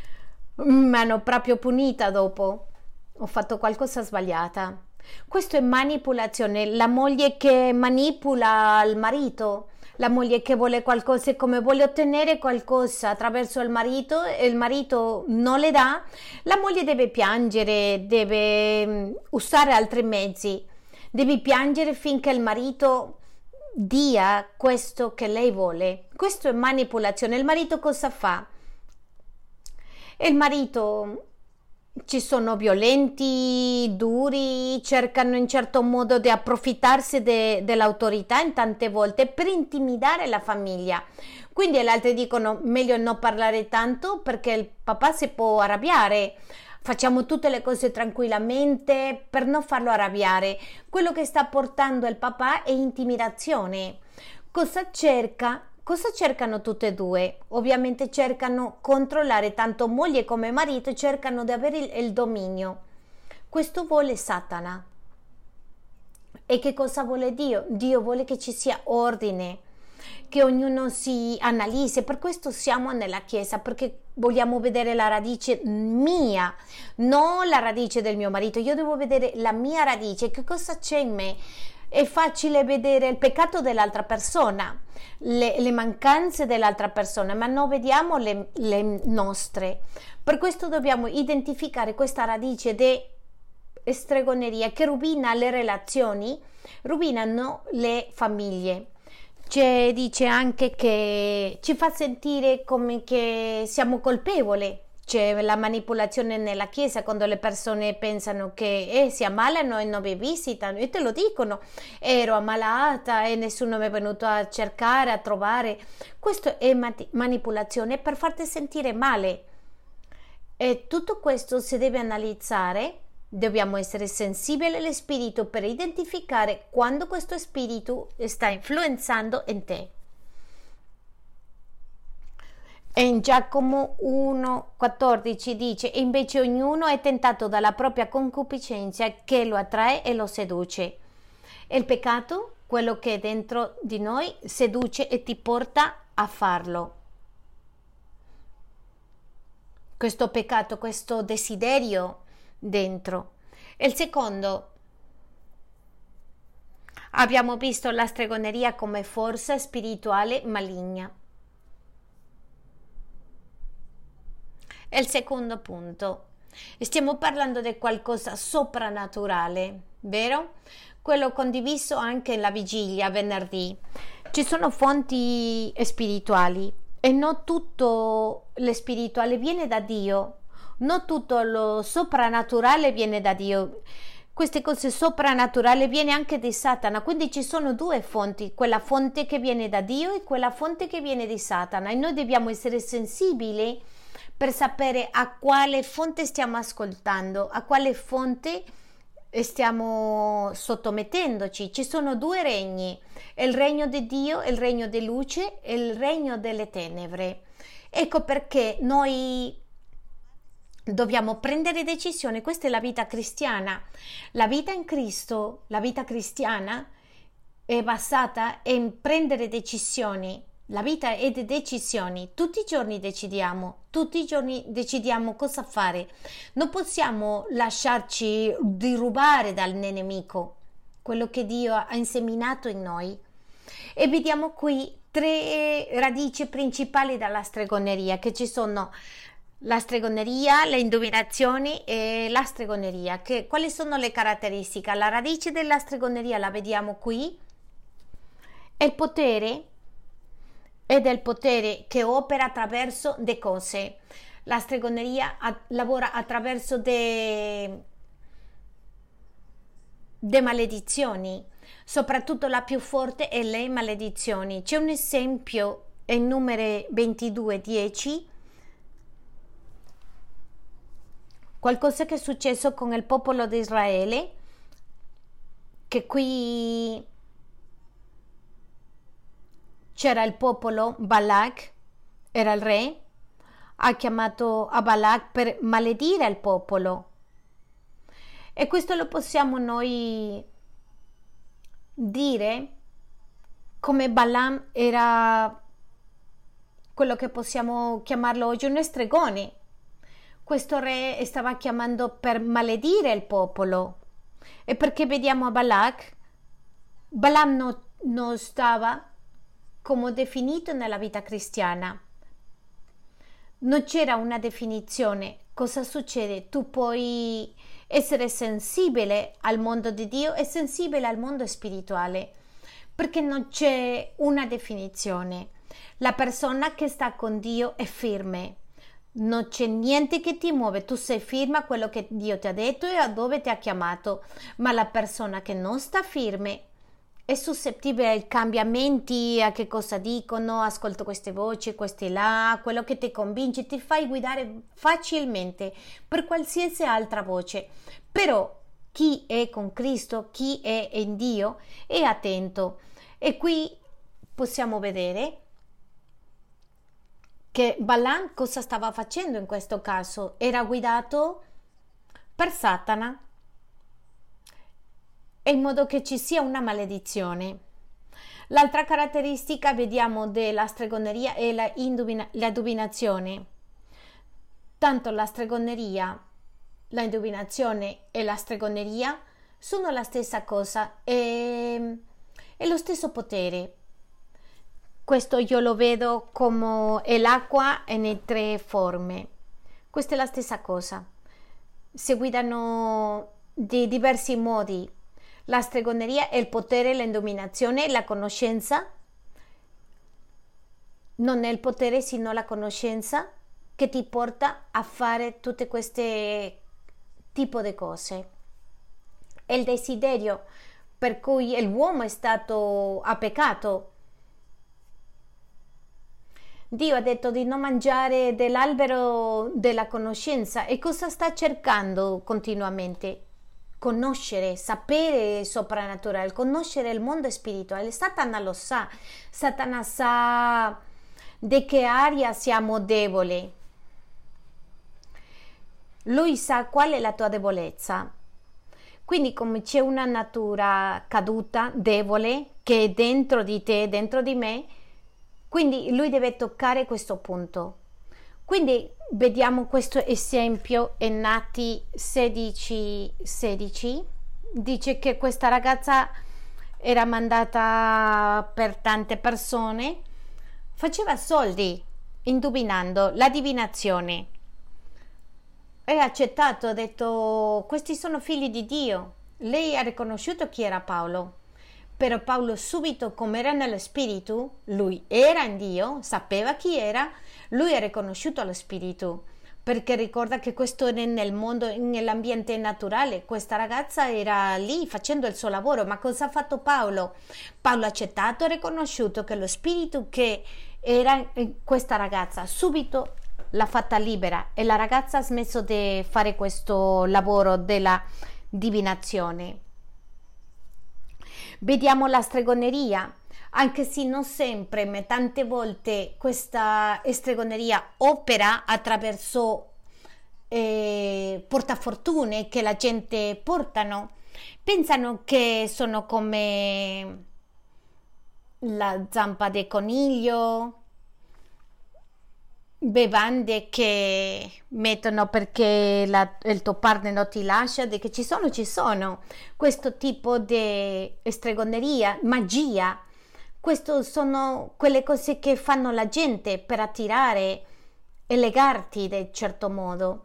S1: proprio punita dopo, ho fatto qualcosa sbagliata. Questo è manipolazione, la moglie che manipola il marito, la moglie che vuole qualcosa e come vuole ottenere qualcosa attraverso il marito e il marito non le dà, la moglie deve piangere, deve usare altri mezzi, deve piangere finché il marito dia questo che lei vuole. Questo è manipolazione. Il marito cosa fa? Il marito ci sono violenti, duri, cercano in certo modo di approfittarsi dell'autorità in tante volte per intimidare la famiglia. Quindi gli altri dicono meglio non parlare tanto perché il papà si può arrabbiare. Facciamo tutte le cose tranquillamente per non farlo arrabbiare. Quello che sta portando il papà è intimidazione. Cosa cerca? Cosa cercano tutte e due? Ovviamente cercano controllare, tanto moglie come marito cercano di avere il dominio. Questo vuole Satana. E che cosa vuole Dio? Dio vuole che ci sia ordine, che ognuno si analizzi. Per questo siamo nella Chiesa, perché vogliamo vedere la radice mia, non la radice del mio marito. Io devo vedere la mia radice, che cosa c'è in me. È facile vedere il peccato dell'altra persona, le mancanze dell'altra persona, ma non vediamo le nostre. Per questo dobbiamo identificare questa radice di stregoneria che rovina le relazioni, rovinano le famiglie. Dice anche che ci fa sentire come che siamo colpevoli. C'è la manipolazione nella Chiesa quando le persone pensano che si ammalano e non vi visitano e te lo dicono, ero ammalata e nessuno mi è venuto a cercare, a trovare. Questo è manipolazione per farti sentire male, e tutto questo si deve analizzare. Dobbiamo essere sensibili allo spirito per identificare quando questo spirito sta influenzando in te. E in Giacomo 1,14 dice: e invece ognuno è tentato dalla propria concupiscenza che lo attrae e lo seduce. E il peccato, quello che è dentro di noi, seduce e ti porta a farlo. Questo peccato, questo desiderio dentro. E il secondo, abbiamo visto la stregoneria come forza spirituale maligna. E il secondo punto, stiamo parlando di qualcosa soprannaturale, vero? Quello condiviso anche nella vigilia venerdì. Ci sono fonti spirituali e non tutto lo spirituale viene da Dio, non tutto lo soprannaturale viene da Dio. Queste cose soprannaturali viene anche di Satana, quindi ci sono due fonti, quella fonte che viene da Dio e quella fonte che viene di Satana, e noi dobbiamo essere sensibili per sapere a quale fonte stiamo ascoltando, a quale fonte stiamo sottomettendoci. Ci sono due regni, il regno di Dio, il regno di luce e il regno delle tenebre. Ecco perché noi dobbiamo prendere decisioni. Questa è la vita cristiana. La vita in Cristo, la vita cristiana è basata in prendere decisioni La vita è di decisioni, tutti i giorni decidiamo cosa fare. Non possiamo lasciarci derubare dal nemico, quello che Dio ha inseminato in noi. E vediamo qui tre radici principali della stregoneria, che ci sono la stregoneria, le indovinazioni e la stregoneria. Quali sono le caratteristiche? La radice della stregoneria la vediamo qui, è il potere ed è il potere che opera attraverso le cose. La stregoneria lavora attraverso de maledizioni, soprattutto la più forte è le maledizioni. C'è un esempio in Numeri 22:10, qualcosa che è successo con il popolo di Israele, che qui c'era il popolo, Balak era il re, ha chiamato a Balak per maledire il popolo. E questo lo possiamo noi dire come Balaam era quello che possiamo chiamarlo oggi un stregone. Questo re stava chiamando per maledire il popolo. E perché vediamo a Balak, Balaam non stava come definito nella vita cristiana. Non c'era una definizione. Cosa succede? Tu puoi essere sensibile al mondo di Dio e sensibile al mondo spirituale, perché non c'è una definizione. La persona che sta con Dio è firme, non c'è niente che ti muove, tu sei firme a quello che Dio ti ha detto e a dove ti ha chiamato, ma la persona che non sta firme è suscettibile ai cambiamenti, a che cosa dicono, ascolto queste voci, queste là, quello che ti convince, ti fai guidare facilmente per qualsiasi altra voce. Però chi è con Cristo, chi è in Dio, è attento. E qui possiamo vedere che Balaam cosa stava facendo in questo caso? Era guidato per Satana, in modo che ci sia una maledizione. L'altra caratteristica vediamo della stregoneria è la indovinazione. Tanto la stregoneria, la indovinazione e la stregoneria sono la stessa cosa, è lo stesso potere. Questo io lo vedo come è l'acqua in tre forme. Questa è la stessa cosa. Si guidano di diversi modi. La stregoneria è il potere, l'indovinazione, la conoscenza. Non è il potere, sino la conoscenza che ti porta a fare tutte queste tipo di cose. È il desiderio per cui l'uomo ha peccato. Dio ha detto di non mangiare dell'albero della conoscenza. E cosa sta cercando continuamente? Conoscere, sapere soprannaturale, conoscere il mondo spirituale. Satana lo sa. Satana sa di che area siamo deboli. Lui sa qual è la tua debolezza. Quindi come c'è una natura caduta, debole, che è dentro di te, dentro di me, quindi lui deve toccare questo punto. Quindi vediamo questo esempio in Atti 16:16. Dice che questa ragazza era mandata per tante persone, faceva soldi indovinando la divinazione. E ha accettato, ha detto: questi sono figli di Dio. Lei ha riconosciuto chi era Paolo. Però Paolo subito, come era nello spirito, lui era in Dio, sapeva chi era, lui ha riconosciuto lo spirito, perché ricorda che questo è nel mondo, nell'ambiente naturale. Questa ragazza era lì facendo il suo lavoro, ma cosa ha fatto Paolo? Paolo ha accettato e riconosciuto che lo spirito che era in questa ragazza subito l'ha fatta libera, e la ragazza ha smesso di fare questo lavoro della divinazione. Vediamo la stregoneria, anche se non sempre, ma tante volte questa stregoneria opera attraverso portafortune che la gente portano. Pensano che sono come la zampa di coniglio, bevande che mettono perché il tuo partner non ti lascia, di che ci sono questo tipo di stregoneria, magia. Queste sono quelle cose che fanno la gente per attirare e legarti in un certo modo.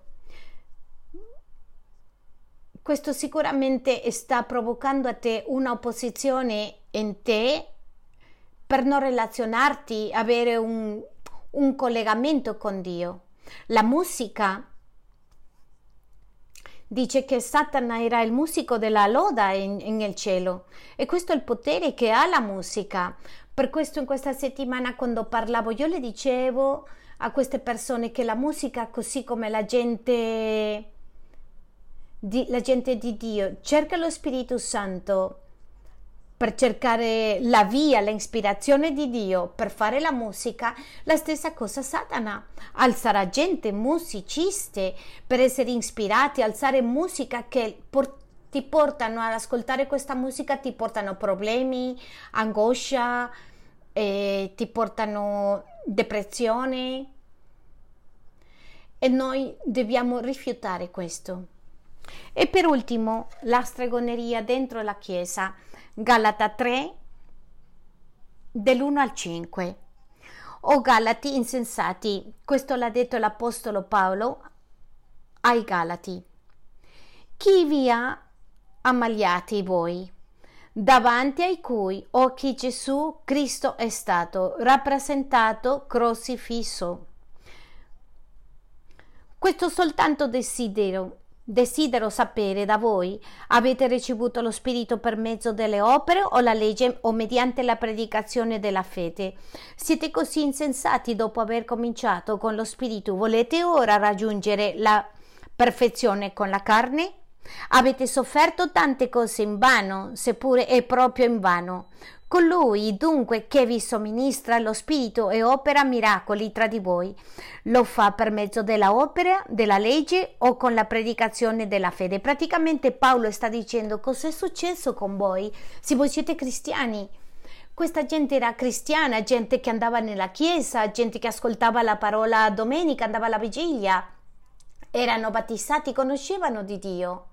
S1: Questo sicuramente sta provocando a te un'opposizione in te per non relazionarti, avere un collegamento con Dio. La musica dice che Satana era il musico della loda nel cielo e questo è il potere che ha la musica. Per questo in questa settimana quando parlavo io le dicevo a queste persone che la musica, così come la gente di Dio cerca lo Spirito Santo per cercare la via, l'ispirazione di Dio per fare la musica, la stessa cosa Satana. Alzerà gente, musicisti, per essere ispirati, alzare musica che ti portano ad ascoltare questa musica, ti portano problemi, angoscia, ti portano depressione. E noi dobbiamo rifiutare questo. E per ultimo, la stregoneria dentro la Chiesa. Galata 3, dell'1 al 5. O Galati insensati, questo l'ha detto l'Apostolo Paolo ai Galati. Chi vi ha ammaliati voi, davanti ai cui occhi Gesù Cristo è stato rappresentato crocifisso. Questo soltanto desidero sapere da voi: avete ricevuto lo Spirito per mezzo delle opere o la legge o mediante la predicazione della fede? Siete così insensati dopo aver cominciato con lo Spirito? Volete ora raggiungere la perfezione con la carne? Avete sofferto tante cose in vano, seppure è proprio in vano. Colui dunque che vi somministra lo Spirito e opera miracoli tra di voi, lo fa per mezzo della opera, della legge o con la predicazione della fede? Praticamente Paolo sta dicendo: cosa è successo con voi se voi siete cristiani? Questa gente era cristiana, gente che andava nella chiesa, gente che ascoltava la parola domenica, andava alla vigilia, erano battezzati, conoscevano di Dio,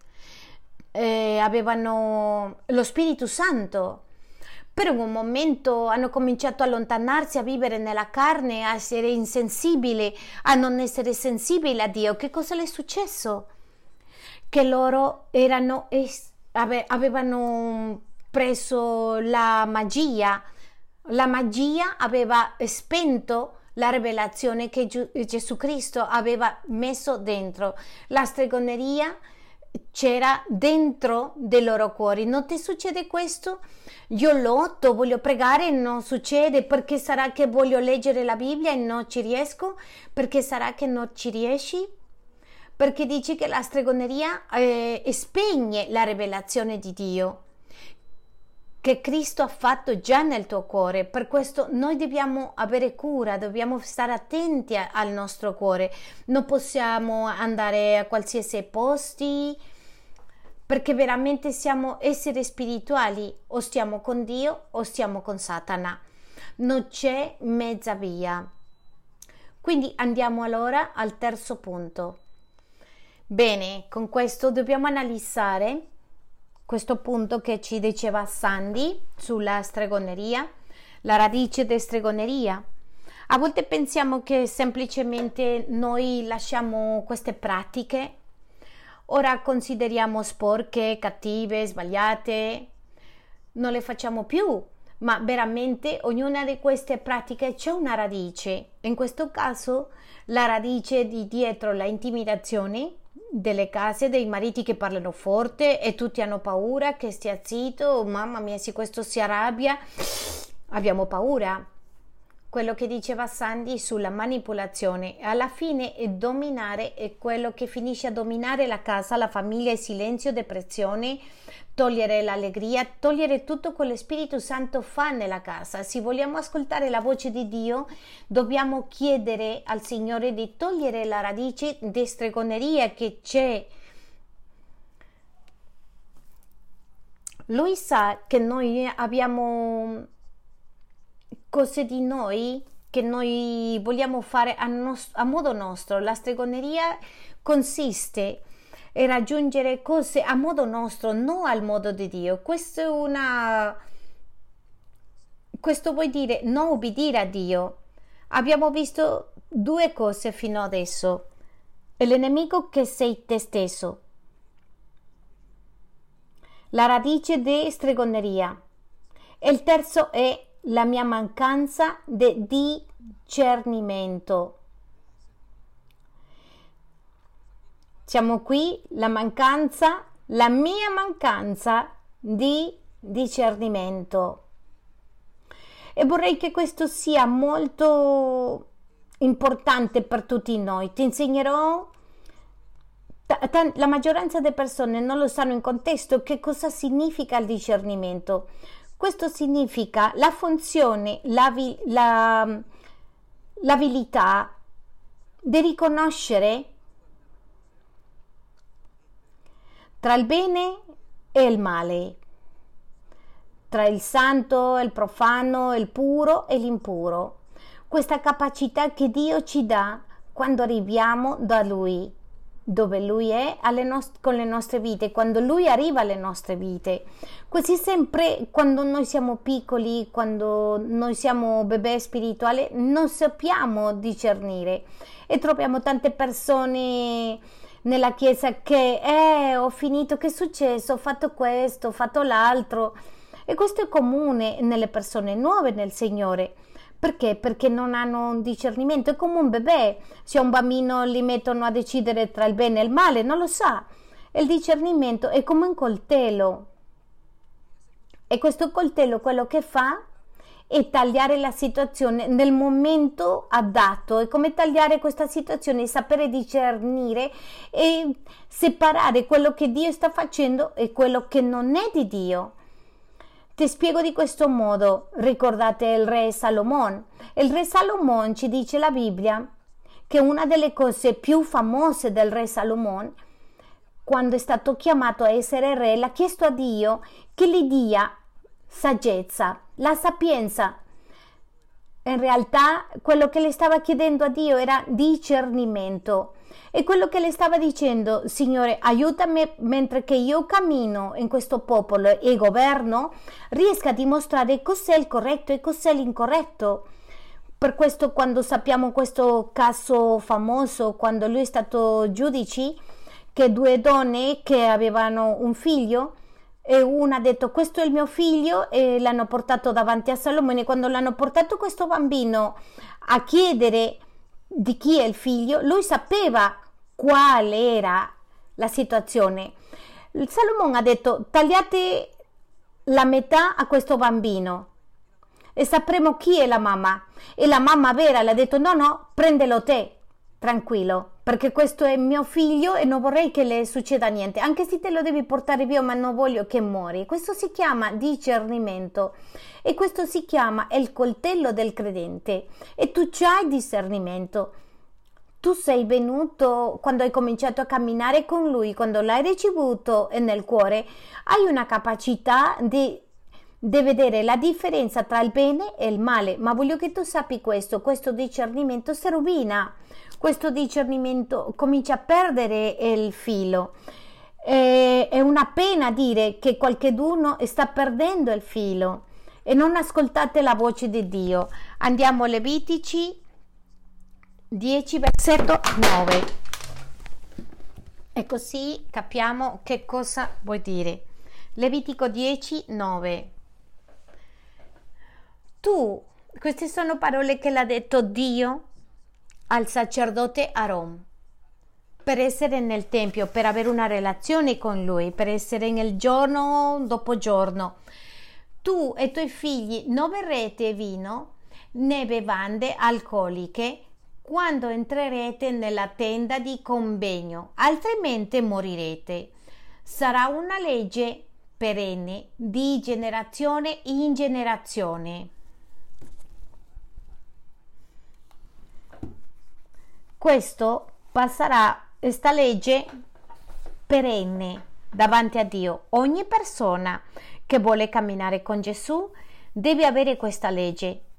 S1: avevano lo Spirito Santo. Per un momento hanno cominciato a allontanarsi, a vivere nella carne, a essere insensibili, a non essere sensibili a Dio. Che cosa le è successo? Che loro avevano preso la magia. La magia aveva spento la rivelazione che Gesù Cristo aveva messo dentro. La stregoneria c'era dentro dei loro cuori. Non ti succede questo? Io lotto, voglio pregare e non succede. Perché sarà che voglio leggere la Bibbia e non ci riesco? Perché sarà che non ci riesci? Perché dici che la stregoneria spegne la rivelazione di Dio che Cristo ha fatto già nel tuo cuore. Per questo noi dobbiamo avere cura, dobbiamo stare attenti al nostro cuore. Non possiamo andare a qualsiasi posti, perché veramente siamo esseri spirituali, o stiamo con Dio o stiamo con Satana. Non c'è mezza via. Quindi andiamo allora al terzo punto. Bene, con questo dobbiamo analizzare questo punto che ci diceva Sandy sulla stregoneria, la radice di stregoneria. A volte pensiamo che semplicemente noi lasciamo queste pratiche, ora consideriamo sporche, cattive, sbagliate, non le facciamo più, ma veramente ognuna di queste pratiche c'è una radice. In questo caso la radice di dietro la intimidazione delle case, dei mariti che parlano forte e tutti hanno paura che stia zitto. Oh, mamma mia, se questo si arrabbia abbiamo paura. Quello che diceva Sandy sulla manipolazione, alla fine è dominare, è quello che finisce a dominare la casa, la famiglia, il silenzio, depressione, togliere l'allegria, togliere tutto quello che Spirito Santo fa nella casa. Se vogliamo ascoltare la voce di Dio, dobbiamo chiedere al Signore di togliere la radice di stregoneria che c'è. Lui sa che noi abbiamo cose di noi che noi vogliamo fare a modo nostro. La stregoneria consiste in raggiungere cose a modo nostro, non al modo di Dio. Questo vuol dire non obbedire a Dio. Abbiamo visto due cose fino adesso. Il nemico che sei te stesso. La radice di stregoneria. E il terzo è la mia mancanza di discernimento. Siamo qui, la mia mancanza di discernimento. E vorrei che questo sia molto importante per tutti noi. Ti insegnerò. La maggioranza delle persone non lo sanno in contesto che cosa significa il discernimento. Questo significa la funzione, l'abilità di riconoscere tra il bene e il male, tra il santo, il profano, il puro e l'impuro. Questa capacità che Dio ci dà quando arriviamo da Lui, dove Lui è con le nostre vite, quando Lui arriva alle nostre vite. Così sempre quando noi siamo piccoli, quando noi siamo bebè spirituali, non sappiamo discernere e troviamo tante persone nella chiesa che ho finito, che è successo, ho fatto questo, ho fatto l'altro, e questo è comune nelle persone nuove nel Signore. Perché? Perché non hanno un discernimento. È come un bebè. Se a un bambino li mettono a decidere tra il bene e il male, non lo sa. Il discernimento è come un coltello. E questo coltello quello che fa è tagliare la situazione nel momento adatto. È come tagliare questa situazione, sapere discernere e separare quello che Dio sta facendo e quello che non è di Dio. Ti spiego di questo modo. Ricordate il re Salomone? Il re Salomone, ci dice la Bibbia, che una delle cose più famose del re Salomone, quando è stato chiamato a essere re, l'ha chiesto a Dio che gli dia saggezza, la sapienza. In realtà quello che le stava chiedendo a Dio era discernimento. E quello che le stava dicendo: Signore, aiutami mentre che io cammino in questo popolo e governo, riesca a dimostrare cos'è il corretto e cos'è l'incorretto. Per questo, quando sappiamo questo caso famoso, quando lui è stato giudice, che due donne che avevano un figlio, e una ha detto questo è il mio figlio, e l'hanno portato davanti a Salomone. Quando l'hanno portato questo bambino a chiedere di chi è il figlio, lui sapeva qual era la situazione. Salomone ha detto: tagliate la metà a questo bambino e sapremo chi è la mamma. E la mamma vera le ha detto: no, prendelo te, tranquillo, perché questo è mio figlio e non vorrei che le succeda niente, anche se te lo devi portare via, ma non voglio che muori. Questo si chiama discernimento e questo si chiama il coltello del credente. E tu c'hai discernimento. Tu sei venuto quando hai cominciato a camminare con lui, quando l'hai ricevuto nel cuore, hai una capacità di vedere la differenza tra il bene e il male. Ma voglio che tu sappi questo discernimento si rovina, questo discernimento comincia a perdere il filo. È una pena dire che qualcheduno sta perdendo il filo e non ascoltate la voce di Dio. Andiamo a Levitici 10 versetto 9 e così capiamo che cosa vuol dire. Levitico 10, 9. Queste sono parole che l'ha detto Dio al sacerdote Aaron per essere nel tempio, per avere una relazione con lui, per essere nel giorno dopo giorno. Tu e i tuoi figli non berrete vino né bevande alcoliche quando entrerete nella tenda di convegno, altrimenti morirete. Sarà una legge perenne di generazione in generazione. Questo passerà, questa legge perenne davanti a Dio. Ogni persona che vuole camminare con Gesù deve avere questa legge.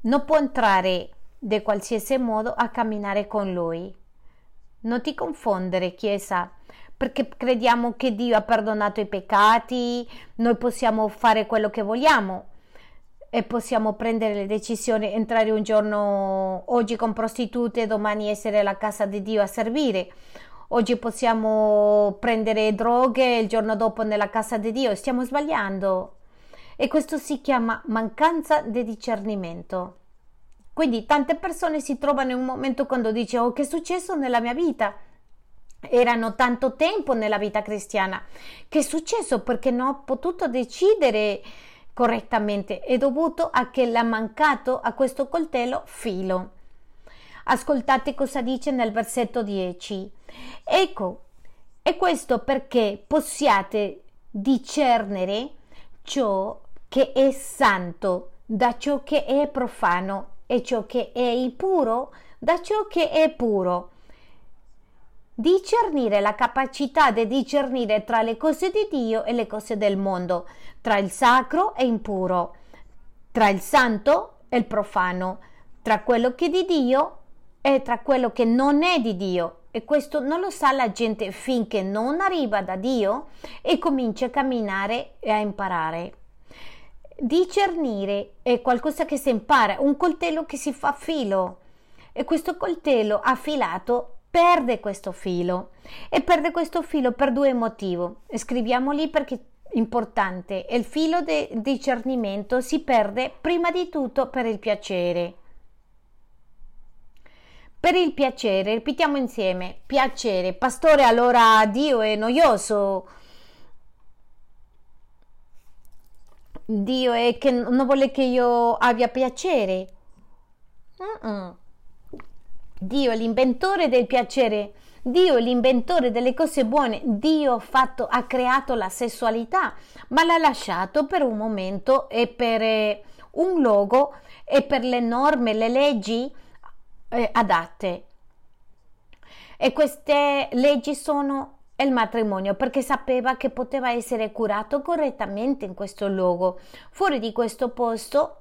S1: non può entrare di qualsiasi modo a camminare con Lui. Non ti confondere, Chiesa, perché crediamo che Dio ha perdonato i peccati, noi possiamo fare quello che vogliamo e possiamo prendere le decisioni, entrare un giorno oggi con prostitute, domani essere alla casa di Dio a servire. Oggi possiamo prendere droghe, il giorno dopo nella casa di Dio. Stiamo sbagliando. E questo si chiama mancanza di discernimento. Quindi tante persone si trovano in un momento quando dice: oh, che è successo nella mia vita? Erano tanto tempo nella vita cristiana. Che è successo? Perché non ho potuto decidere correttamente. È dovuto a che l'ha mancato a questo coltello filo. Ascoltate cosa dice nel versetto 10. Ecco, e questo perché possiate discernere ciò che è santo da ciò che è profano e ciò che è impuro da ciò che è puro. Discernere, la capacità di discernere tra le cose di Dio e le cose del mondo, tra il sacro e impuro, tra il santo e il profano, tra quello che è di Dio e tra quello che non è di Dio. E questo non lo sa la gente finché non arriva da Dio e comincia a camminare e a imparare. Discernere è qualcosa che si impara, un coltello che si fa filo, e questo coltello affilato perde questo filo, e perde questo filo per due motivi. Scriviamoli perché è importante. Il filo di discernimento si perde prima di tutto per il piacere. Per il piacere, ripetiamo insieme: piacere. Pastore, allora Dio è noioso, Dio è che non vuole che io abbia piacere. Dio è l'inventore del piacere, Dio è l'inventore delle cose buone. Dio ha creato la sessualità, ma l'ha lasciato per un momento e per un luogo e per le norme, le leggi adatte. E queste leggi sono il matrimonio, perché sapeva che poteva essere curato correttamente in questo luogo. Fuori di questo posto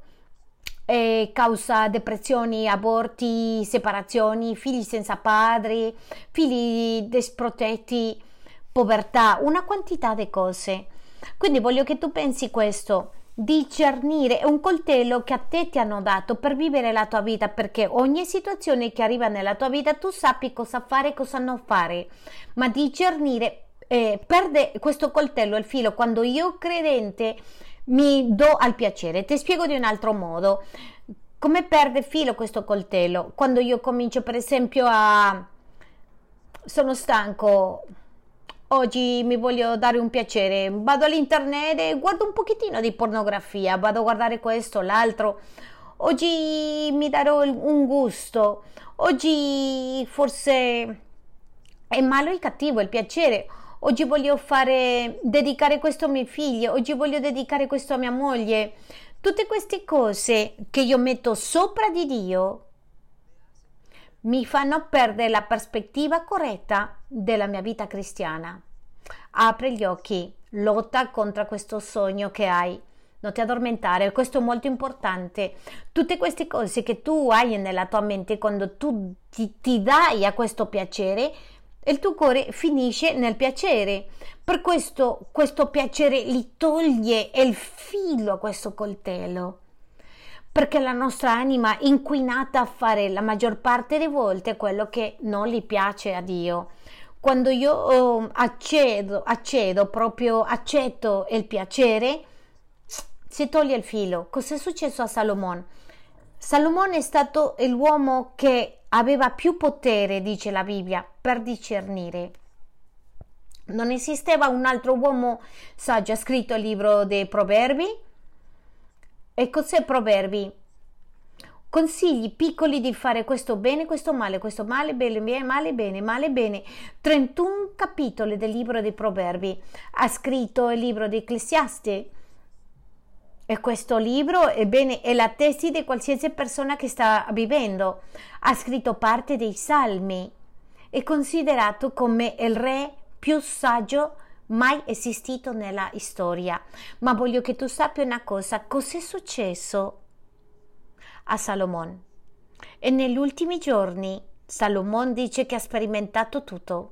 S1: causa depressioni, aborti, separazioni, figli senza padri, figli disprotetti, povertà, una quantità di cose. Quindi voglio che tu pensi questo: discernere è un coltello che a te ti hanno dato per vivere la tua vita, perché ogni situazione che arriva nella tua vita tu sappi cosa fare e cosa non fare. Ma discernere perde questo coltello, il filo, quando io credente mi do al piacere. Ti spiego di un altro modo come perde filo questo coltello. Quando io comincio, per esempio, sono stanco, oggi mi voglio dare un piacere, vado all'internet e guardo un pochettino di pornografia, vado a guardare questo, l'altro. Oggi mi darò un gusto, oggi forse è malo e cattivo il piacere. Oggi voglio dedicare questo a mio figlio, oggi voglio dedicare questo a mia moglie. Tutte queste cose che io metto sopra di Dio mi fanno perdere la prospettiva corretta della mia vita cristiana. Apri gli occhi, lotta contro questo sogno che hai. Non ti addormentare, questo è molto importante. Tutte queste cose che tu hai nella tua mente, quando tu ti dai a questo piacere, il tuo cuore finisce nel piacere. Per questo piacere gli toglie il filo a questo coltello, perché la nostra anima è inquinata a fare la maggior parte delle volte quello che non gli piace a Dio. Quando io accetto il piacere, si toglie il filo. Cos'è successo a Salomone? Salomone è stato l'uomo che aveva più potere, dice la Bibbia, per discernere. Non esisteva un altro uomo saggio. Ha scritto il libro dei Proverbi. E cos'è Proverbi? Consigli piccoli di fare questo bene, questo male, bene, male, bene, male, bene. 31 capitoli del libro dei Proverbi. Ha scritto il libro di Ecclesiaste. E questo libro, ebbene, è la tesi di qualsiasi persona che sta vivendo. Ha scritto parte dei Salmi. È considerato come il re più saggio mai esistito nella storia. Ma voglio che tu sappia una cosa: cos'è successo a Salomone. E negli ultimi giorni Salomone dice che ha sperimentato tutto.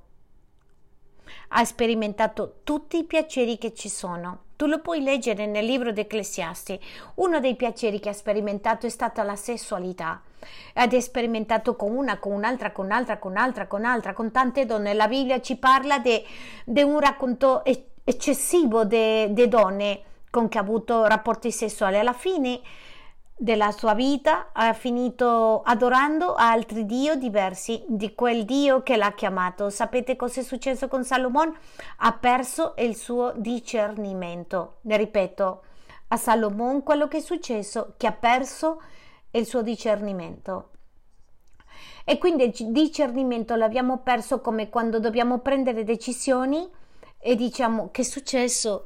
S1: Ha sperimentato tutti i piaceri che ci sono. Tu lo puoi leggere nel libro di Ecclesiasti. Uno dei piaceri che ha sperimentato è stata la sessualità. Ed è sperimentato con una, con un'altra, con un'altra, con un'altra, con un'altra, con tante donne. La Bibbia ci parla di un racconto eccessivo di donne con che ha avuto rapporti sessuali. Alla fine della sua vita ha finito adorando altri dio diversi di quel Dio che l'ha chiamato. Sapete cosa è successo con Salomone? Ha perso il suo discernimento. Ne ripeto, a Salomone quello che è successo è che ha perso il suo discernimento. E quindi il discernimento l'abbiamo perso come quando dobbiamo prendere decisioni e diciamo: che è successo?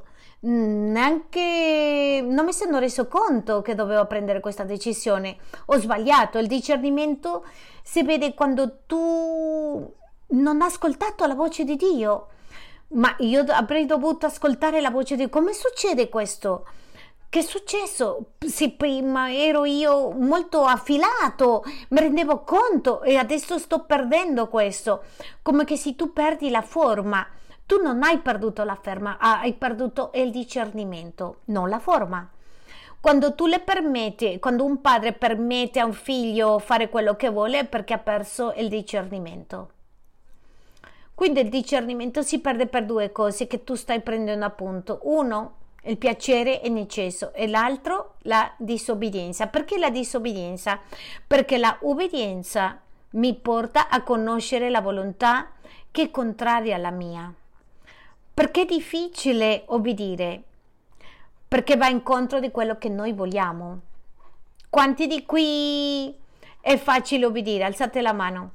S1: Neanche non mi sono reso conto che dovevo prendere questa decisione, ho sbagliato. Il discernimento si vede quando tu non hai ascoltato la voce di Dio. Ma io avrei dovuto ascoltare la voce di Dio. Come succede questo? Che è successo? Se prima ero io molto affilato, mi rendevo conto, e adesso sto perdendo questo. Come che se tu perdi la forma, tu non hai perduto la forma, hai perduto il discernimento, non la forma. Quando tu le permetti, quando un padre permette a un figlio fare quello che vuole, è perché ha perso il discernimento. Quindi il discernimento si perde per due cose che tu stai prendendo appunto. Uno, il piacere in eccesso, e l'altro, la disobbedienza. Perché la disobbedienza? Perché la obbedienza mi porta a conoscere la volontà che è contraria alla mia. Perché è difficile obbedire? Perché va incontro di quello che noi vogliamo. Quanti di qui è facile obbedire? Alzate la mano.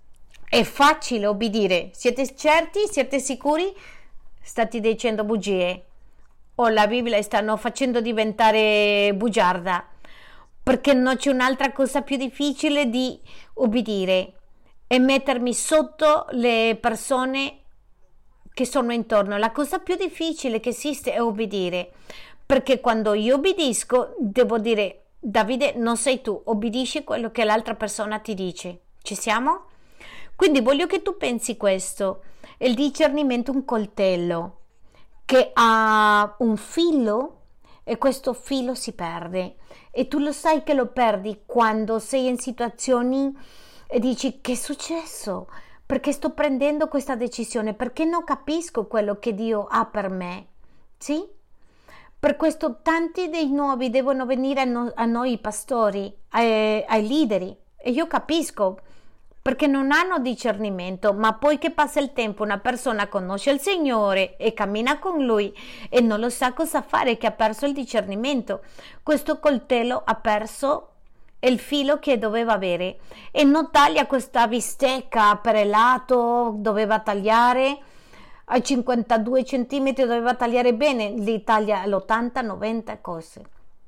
S1: È facile obbedire. Siete certi? Siete sicuri? State dicendo bugie. O la Bibbia stanno facendo diventare bugiarda. Perché non c'è un'altra cosa più difficile di obbedire e mettermi sotto le persone che sono intorno. La cosa più difficile che esiste è obbedire, perché quando io obbedisco devo dire: Davide, non sei tu, obbedisci quello che l'altra persona ti dice. Ci siamo? Quindi voglio che tu pensi questo: il discernimento è un coltello che ha un filo e questo filo si perde, e tu lo sai che lo perdi quando sei in situazioni e dici: che è successo? Perché sto prendendo questa decisione? Perché non capisco quello che Dio ha per me? Sì? Per questo tanti dei nuovi devono venire a noi pastori, ai leader, e io capisco, perché non hanno discernimento. Ma poi che passa il tempo, una persona conosce il Signore e cammina con Lui e non lo sa cosa fare, che ha perso il discernimento. Questo coltello ha perso il filo che doveva avere e non taglia questa bistecca per il lato, doveva tagliare a 52 centimetri, doveva tagliare bene, li taglia all'80-90 cose.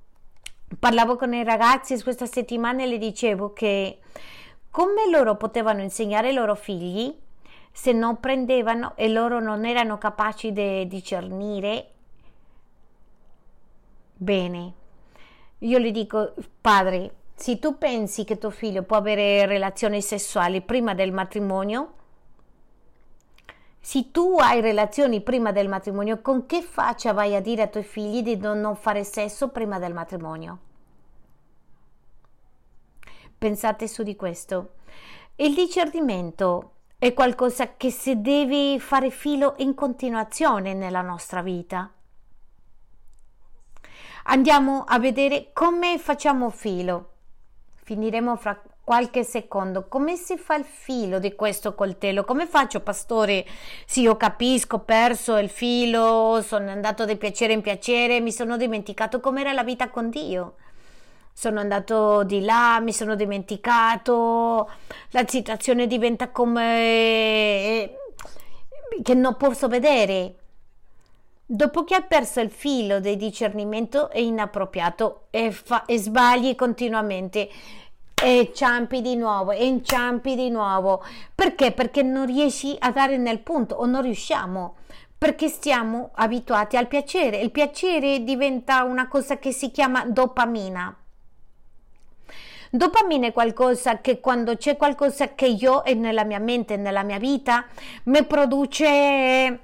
S1: Parlavo con i ragazzi questa settimana e le dicevo che come loro potevano insegnare ai loro figli se non prendevano e loro non erano capaci di discernere bene. Io gli dico: padre, se tu pensi che tuo figlio può avere relazioni sessuali prima del matrimonio, se tu hai relazioni prima del matrimonio, con che faccia vai a dire ai tuoi figli di non fare sesso prima del matrimonio? Pensate su di questo. Il discernimento è qualcosa che si deve fare filo in continuazione nella nostra vita. Andiamo a vedere come facciamo filo. Finiremo fra qualche secondo. Come si fa il filo di questo coltello? Come faccio, pastore? Sì, io capisco, ho perso il filo, sono andato di piacere in piacere, mi sono dimenticato com'era la vita con Dio. Sono andato di là, mi sono dimenticato, la situazione diventa come che non posso vedere. Dopo che hai perso il filo del discernimento è inappropriato e sbagli continuamente e inciampi di nuovo. Perché? Perché non riesci a dare nel punto, o non riusciamo, perché stiamo abituati al piacere. Il piacere diventa una cosa che si chiama dopamina. Dopamina è qualcosa che quando c'è qualcosa che io e nella mia mente, nella mia vita, mi produce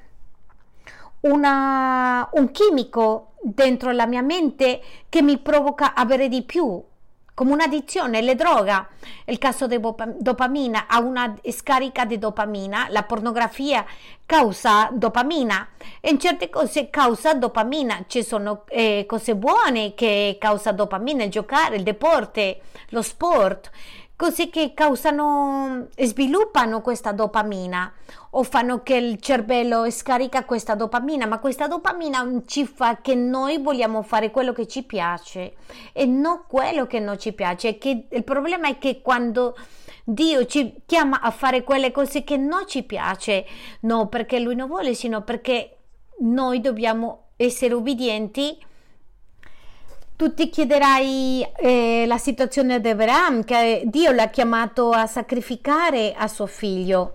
S1: un chimico dentro la mia mente che mi provoca avere di più, come un'addizione, le droga. Il caso di dopamina ha una scarica di dopamina, la pornografia causa dopamina e in certe cose causa dopamina. Ci sono cose buone che causa dopamina, il giocare, il deporte, lo sport, cose che causano e sviluppano questa dopamina o fanno che il cervello scarica questa dopamina, ma questa dopamina ci fa che noi vogliamo fare quello che ci piace e non quello che non ci piace. Che il problema è che quando Dio ci chiama a fare quelle cose che non ci piace, non perché Lui non vuole, sino perché noi dobbiamo essere ubbidienti. Tu ti chiederai la situazione di Abraham, che Dio l'ha chiamato a sacrificare a suo figlio.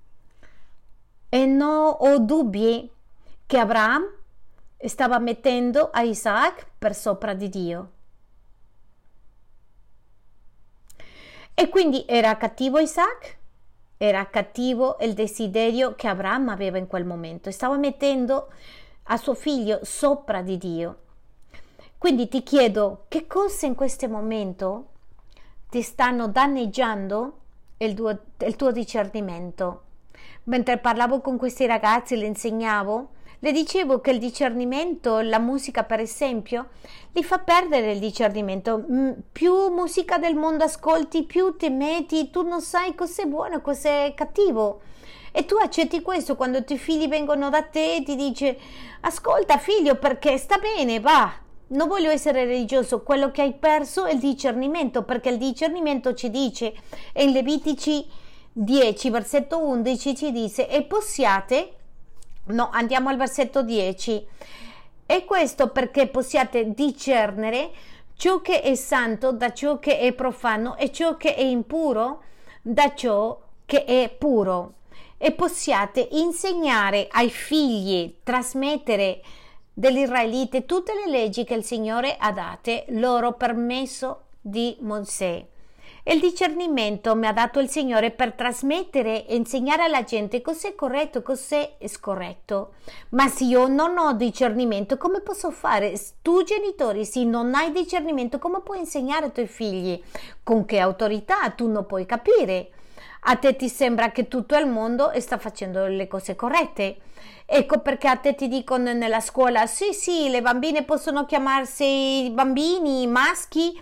S1: E non ho dubbi che Abraham stava mettendo a Isaac per sopra di Dio. E quindi era cattivo Isaac? Era cattivo il desiderio che Abraham aveva in quel momento. Stava mettendo a suo figlio sopra di Dio. Quindi ti chiedo, che cose in questo momento ti stanno danneggiando il tuo discernimento? Mentre parlavo con questi ragazzi, le insegnavo, le dicevo che il discernimento, la musica per esempio, li fa perdere il discernimento. Più musica del mondo ascolti, più ti metti, tu non sai cos'è buono e cos'è cattivo. E tu accetti questo quando i tuoi figli vengono da te e ti dice: ascolta figlio, perché sta bene, va. Non voglio essere religioso, quello che hai perso è il discernimento, perché il discernimento ci dice, e in Levitici 10, versetto 11 ci dice: e possiate, no, andiamo al versetto 10, e questo perché possiate discernere ciò che è santo da ciò che è profano e ciò che è impuro da ciò che è puro, e possiate insegnare ai figli, trasmettere degli israeliti tutte le leggi che il Signore ha date loro per mezzo di Mosè. Il discernimento mi ha dato il Signore per trasmettere e insegnare alla gente cos'è corretto e cos'è scorretto. Ma se io non ho discernimento, come posso fare? Tu genitori, se non hai discernimento, come puoi insegnare ai tuoi figli? Con che autorità? Tu non puoi capire. A te ti sembra che tutto il mondo sta facendo le cose corrette. Ecco perché a te ti dicono nella scuola: sì, le bambine possono chiamarsi bambini, maschi,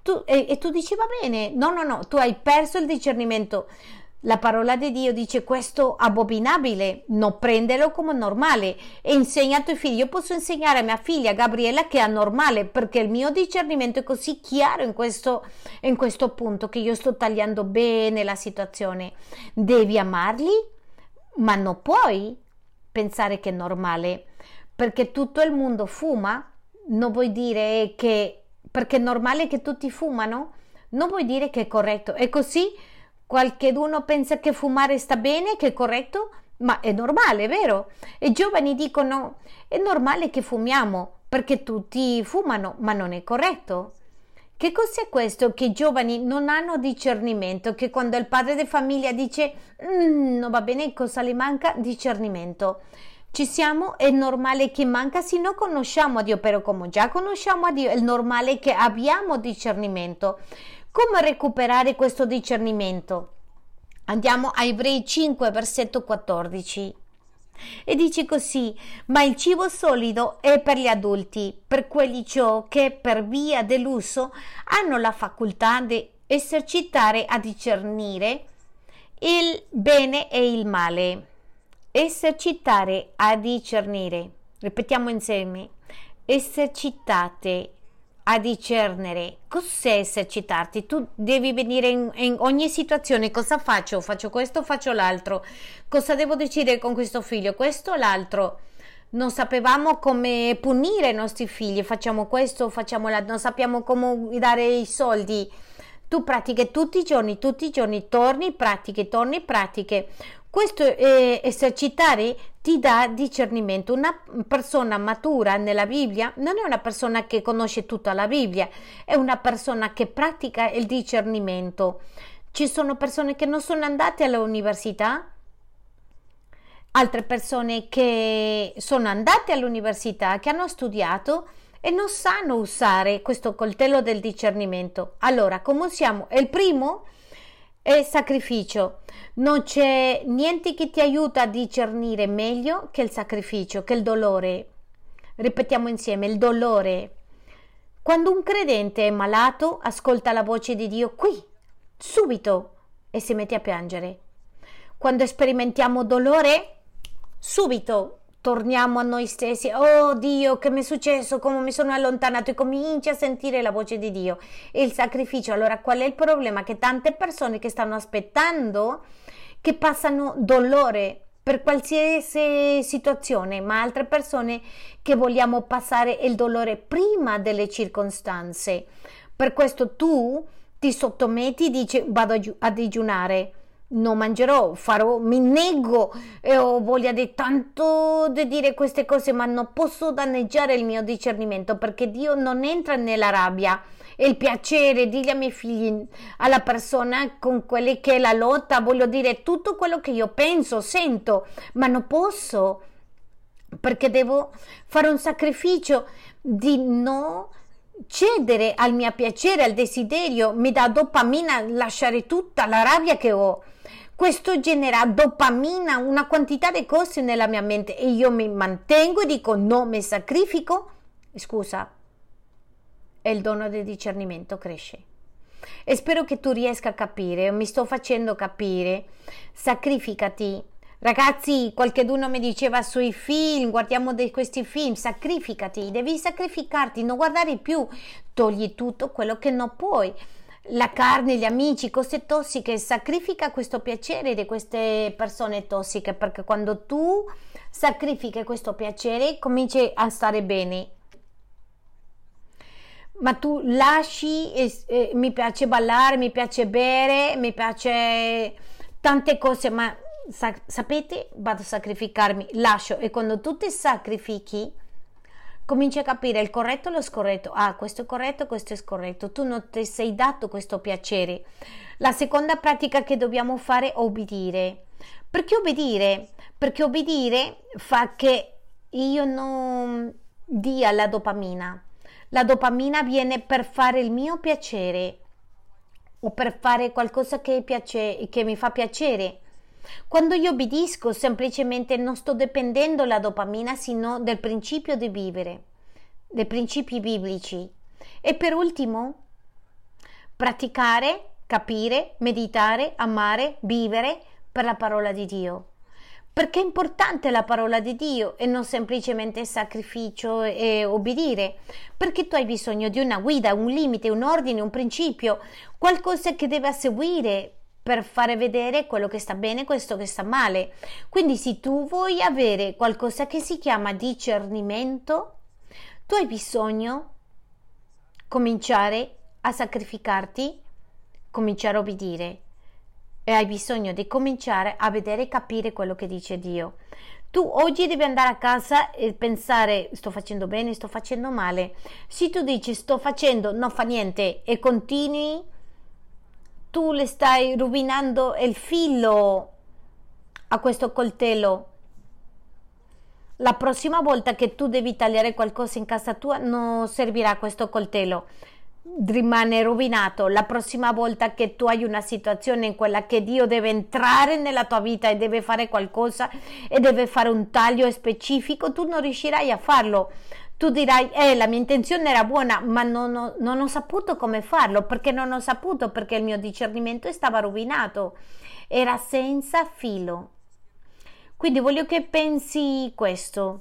S1: e tu dici va bene. No, tu hai perso il discernimento. La parola di Dio dice questo abominabile, non prenderlo come normale e insegna ai tuoi figli. Io posso insegnare a mia figlia Gabriella che è anormale perché il mio discernimento è così chiaro in questo punto che io sto tagliando bene la situazione. Devi amarli, ma non puoi pensare che è normale perché tutto il mondo fuma. Non vuoi dire che perché è normale che tutti fumano, non vuoi dire che è corretto. E così qualcheduno pensa che fumare sta bene, che è corretto, ma è normale, vero? E i giovani dicono: è normale che fumiamo perché tutti fumano, ma non è corretto. Che cos'è questo? Che i giovani non hanno discernimento, che quando il padre di famiglia dice non va bene, cosa gli manca? Discernimento. Ci siamo, è normale che manca se non conosciamo a Dio, però come già conosciamo a Dio è normale che abbiamo discernimento. Come recuperare questo discernimento? Andiamo a Ebrei 5, versetto 14. E dice così: ma il cibo solido è per gli adulti, per quelli ciò che per via dell'uso hanno la facoltà di esercitare a discernere il bene e il male. Esercitare a discernere. Ripetiamo insieme: esercitate a discernere. Cos'è esercitarti? Tu devi venire in ogni situazione. Cosa faccio? Faccio questo, faccio l'altro. Cosa devo decidere con questo figlio? Questo o l'altro? Non sapevamo come punire i nostri figli. Facciamo questo, facciamo l'altro. Non sappiamo come dare i soldi. Tu pratiche tutti i giorni, torni, pratiche. Questo esercitare ti dà discernimento. Una persona matura nella Bibbia non è una persona che conosce tutta la Bibbia, è una persona che pratica il discernimento. Ci sono persone che non sono andate all'università, altre persone che sono andate all'università, che hanno studiato e non sanno usare questo coltello del discernimento. Allora, come usiamo? Il primo è sacrificio. Non c'è niente che ti aiuta a discernere meglio che il sacrificio, che il dolore. Ripetiamo insieme, il dolore. Quando un credente è malato, ascolta la voce di Dio qui, subito, e si mette a piangere. Quando sperimentiamo dolore, subito torniamo a noi stessi. Oh Dio, che mi è successo? Come mi sono allontanato? E cominci a sentire la voce di Dio e il sacrificio. Allora, qual è il problema? Che tante persone che stanno aspettando, che passano dolore per qualsiasi situazione, ma altre persone che vogliamo passare il dolore prima delle circostanze. Per questo tu ti sottometti, dici vado a digiunare, non mangerò, farò, mi nego e ho voglia di tanto di dire queste cose, ma non posso danneggiare il mio discernimento, perché Dio non entra nella rabbia e il piacere. Digli ai miei figli, alla persona con quelle che è la lotta, voglio dire tutto quello che io penso, sento, ma non posso, perché devo fare un sacrificio di no cedere al mio piacere, al desiderio. Mi dà dopamina lasciare tutta la rabbia che ho. Questo genera dopamina, una quantità di cose nella mia mente, e io mi mantengo e dico no, mi sacrifico. Scusa, e il dono del discernimento cresce. E spero che tu riesca a capire, mi sto facendo capire. Sacrificati. Ragazzi, qualcuno mi diceva sui film, guardiamo questi film, sacrificati, devi sacrificarti, non guardare più, togli tutto quello che non puoi, la carne, gli amici, cose tossiche, sacrifica questo piacere di queste persone tossiche, perché quando tu sacrifichi questo piacere cominci a stare bene. Ma tu lasci, mi piace ballare, mi piace bere, mi piace tante cose, ma sapete, vado a sacrificarmi, lascio, e quando tu ti sacrifichi cominci a capire il corretto e lo scorretto. Ah, questo è corretto, questo è scorretto. Tu non ti sei dato questo piacere. La seconda pratica che dobbiamo fare è obbedire. Perché obbedire? Perché obbedire fa che io non dia la dopamina. La dopamina viene per fare il mio piacere o per fare qualcosa che mi fa piacere. Quando io obbedisco, semplicemente non sto dipendendo dalla dopamina, sino del principio di vivere, dei principi biblici. E per ultimo, praticare, capire, meditare, amare, vivere per la parola di Dio. Perché è importante la parola di Dio e non semplicemente sacrificio e obbedire, perché tu hai bisogno di una guida, un limite, un ordine, un principio, qualcosa che deve seguire per fare vedere quello che sta bene e questo che sta male. Quindi se tu vuoi avere qualcosa che si chiama discernimento, tu hai bisogno cominciare a sacrificarti, cominciare a obbedire, e hai bisogno di cominciare a vedere e capire quello che dice Dio. Tu oggi devi andare a casa e pensare: sto facendo bene, sto facendo male. Se tu dici sto facendo, non fa niente, e continui, tu le stai rovinando il filo a questo coltello. La prossima volta che tu devi tagliare qualcosa in casa tua non servirà questo coltello, rimane rovinato. La prossima volta che tu hai una situazione in quella che Dio deve entrare nella tua vita e deve fare qualcosa e deve fare un taglio specifico, tu non riuscirai a farlo. Tu dirai: la mia intenzione era buona, ma non ho saputo come farlo. Perché non ho saputo? Perché il mio discernimento stava rovinato, era senza filo. Quindi voglio che pensi questo.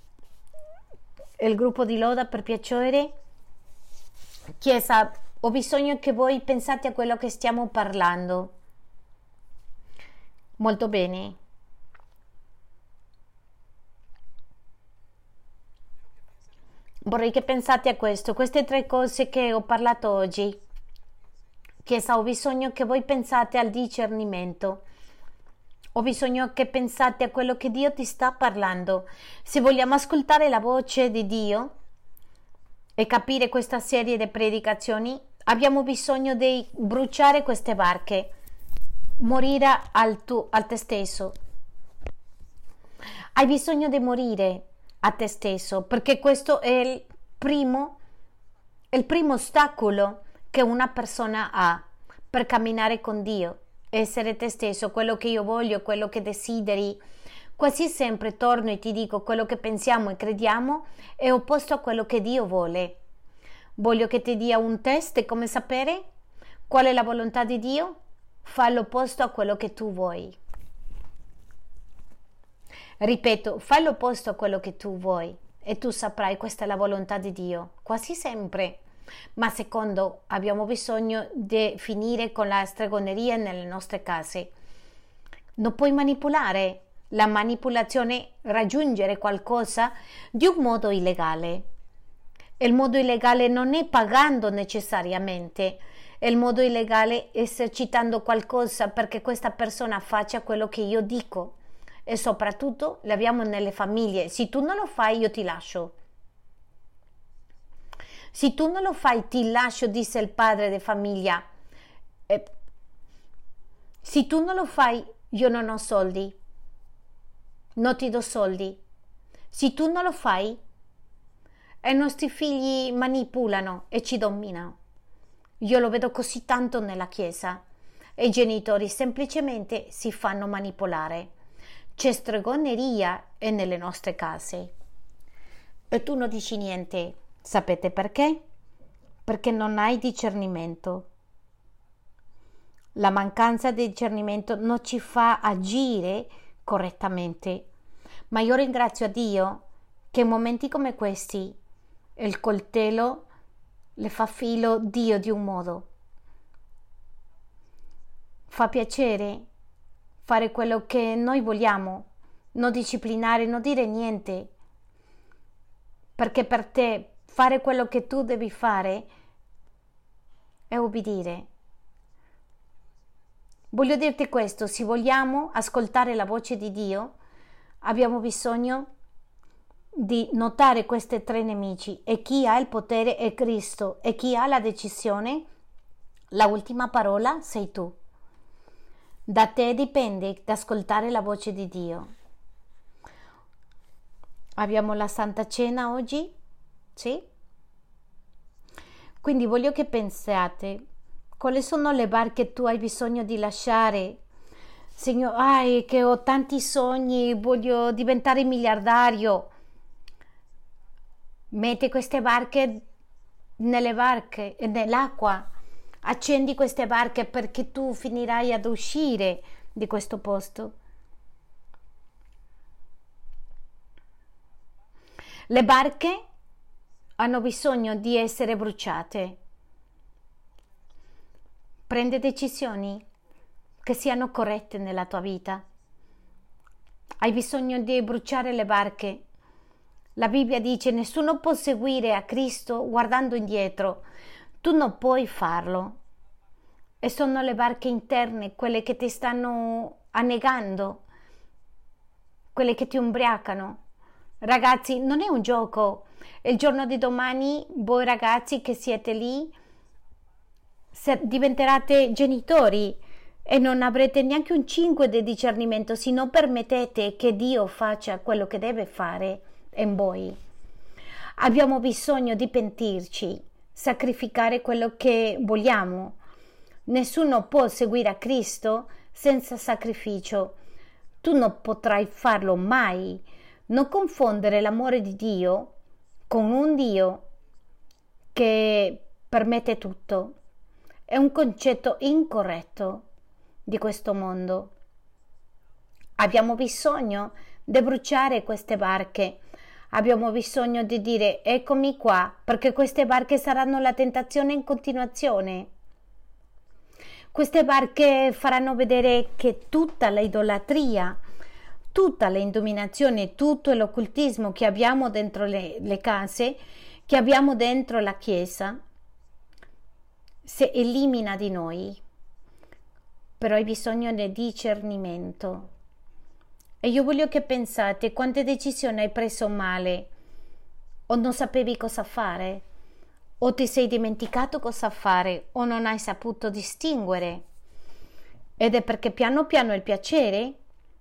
S1: Il gruppo di loda, per piacere, Chiesa, ho bisogno che voi pensate a quello che stiamo parlando. Molto bene. Vorrei che pensate a questo, queste 3 cose che ho parlato oggi. Chiesa, ho bisogno che voi pensate al discernimento. Ho bisogno che pensate a quello che Dio ti sta parlando. Se vogliamo ascoltare la voce di Dio e capire questa serie di predicazioni, abbiamo bisogno di bruciare queste barche, morire a te stesso. Hai bisogno di morire a te stesso, perché questo è il primo ostacolo che una persona ha per camminare con Dio. Essere te stesso, quello che io voglio, quello che desideri. Quasi sempre torno e ti dico, quello che pensiamo e crediamo è opposto a quello che Dio vuole. Voglio che ti dia un test e come sapere qual è la volontà di Dio? Fa l'opposto a quello che tu vuoi. Ripeto, fai l'opposto a quello che tu vuoi e tu saprai questa è la volontà di Dio, quasi sempre. Ma secondo, abbiamo bisogno di finire con la stregoneria nelle nostre case. Non puoi manipolare. La manipolazione è raggiungere qualcosa di un modo illegale. Il modo illegale non è pagando necessariamente. Il modo illegale è esercitando qualcosa perché questa persona faccia quello che io dico. E soprattutto l'abbiamo nelle famiglie. Se tu non lo fai io ti lascio. Se tu non lo fai ti lascio, disse il padre di famiglia. Se tu non lo fai io non ho soldi, non ti do soldi. Se tu non lo fai i nostri figli manipolano e ci dominano. Io lo vedo così tanto nella chiesa e i genitori semplicemente si fanno manipolare. C'è stregoneria nelle nostre case e tu non dici niente. Sapete perché? Perché non hai discernimento. La mancanza di discernimento non ci fa agire correttamente. Ma io ringrazio a Dio che in momenti come questi il coltello le fa filo Dio di un modo. Fa piacere fare quello che noi vogliamo, non disciplinare, non dire niente, perché per te fare quello che tu devi fare è obbedire. Voglio dirti questo, se vogliamo ascoltare la voce di Dio, abbiamo bisogno di notare questi tre nemici e chi ha il potere è Cristo e chi ha la decisione, la ultima parola sei tu. Da te dipende di ascoltare la voce di Dio. Abbiamo la Santa Cena oggi, sì? Quindi voglio che pensiate, quali sono le barche che tu hai bisogno di lasciare? Signore, che ho tanti sogni, voglio diventare miliardario. Metti queste barche nell'acqua. Accendi queste barche perché tu finirai ad uscire di questo posto. Le barche hanno bisogno di essere bruciate. Prendi decisioni che siano corrette nella tua vita. Hai bisogno di bruciare le barche. La Bibbia dice: nessuno può seguire a Cristo guardando indietro. Tu non puoi farlo. E sono le barche interne, quelle che ti stanno annegando, quelle che ti ubriacano. Ragazzi, non è un gioco. Il giorno di domani, voi ragazzi che siete lì, diventerete genitori e non avrete neanche un 5 di discernimento se non permettete che Dio faccia quello che deve fare in voi. Abbiamo bisogno di pentirci, sacrificare quello che vogliamo. Nessuno può seguire a Cristo senza sacrificio. Tu non potrai farlo mai. Non confondere l'amore di Dio con un Dio che permette tutto. È un concetto incorretto di questo mondo. Abbiamo bisogno di bruciare queste barche. Abbiamo bisogno di dire: eccomi qua, perché queste barche saranno la tentazione in continuazione. Queste barche faranno vedere che tutta l'idolatria, tutta l'indominazione, tutto l'occultismo che abbiamo dentro le case, che abbiamo dentro la Chiesa, si elimina di noi. Però hai bisogno di discernimento. E io voglio che pensate quante decisioni hai preso male, o non sapevi cosa fare, o ti sei dimenticato cosa fare, o non hai saputo distinguere. Ed è perché piano piano il piacere,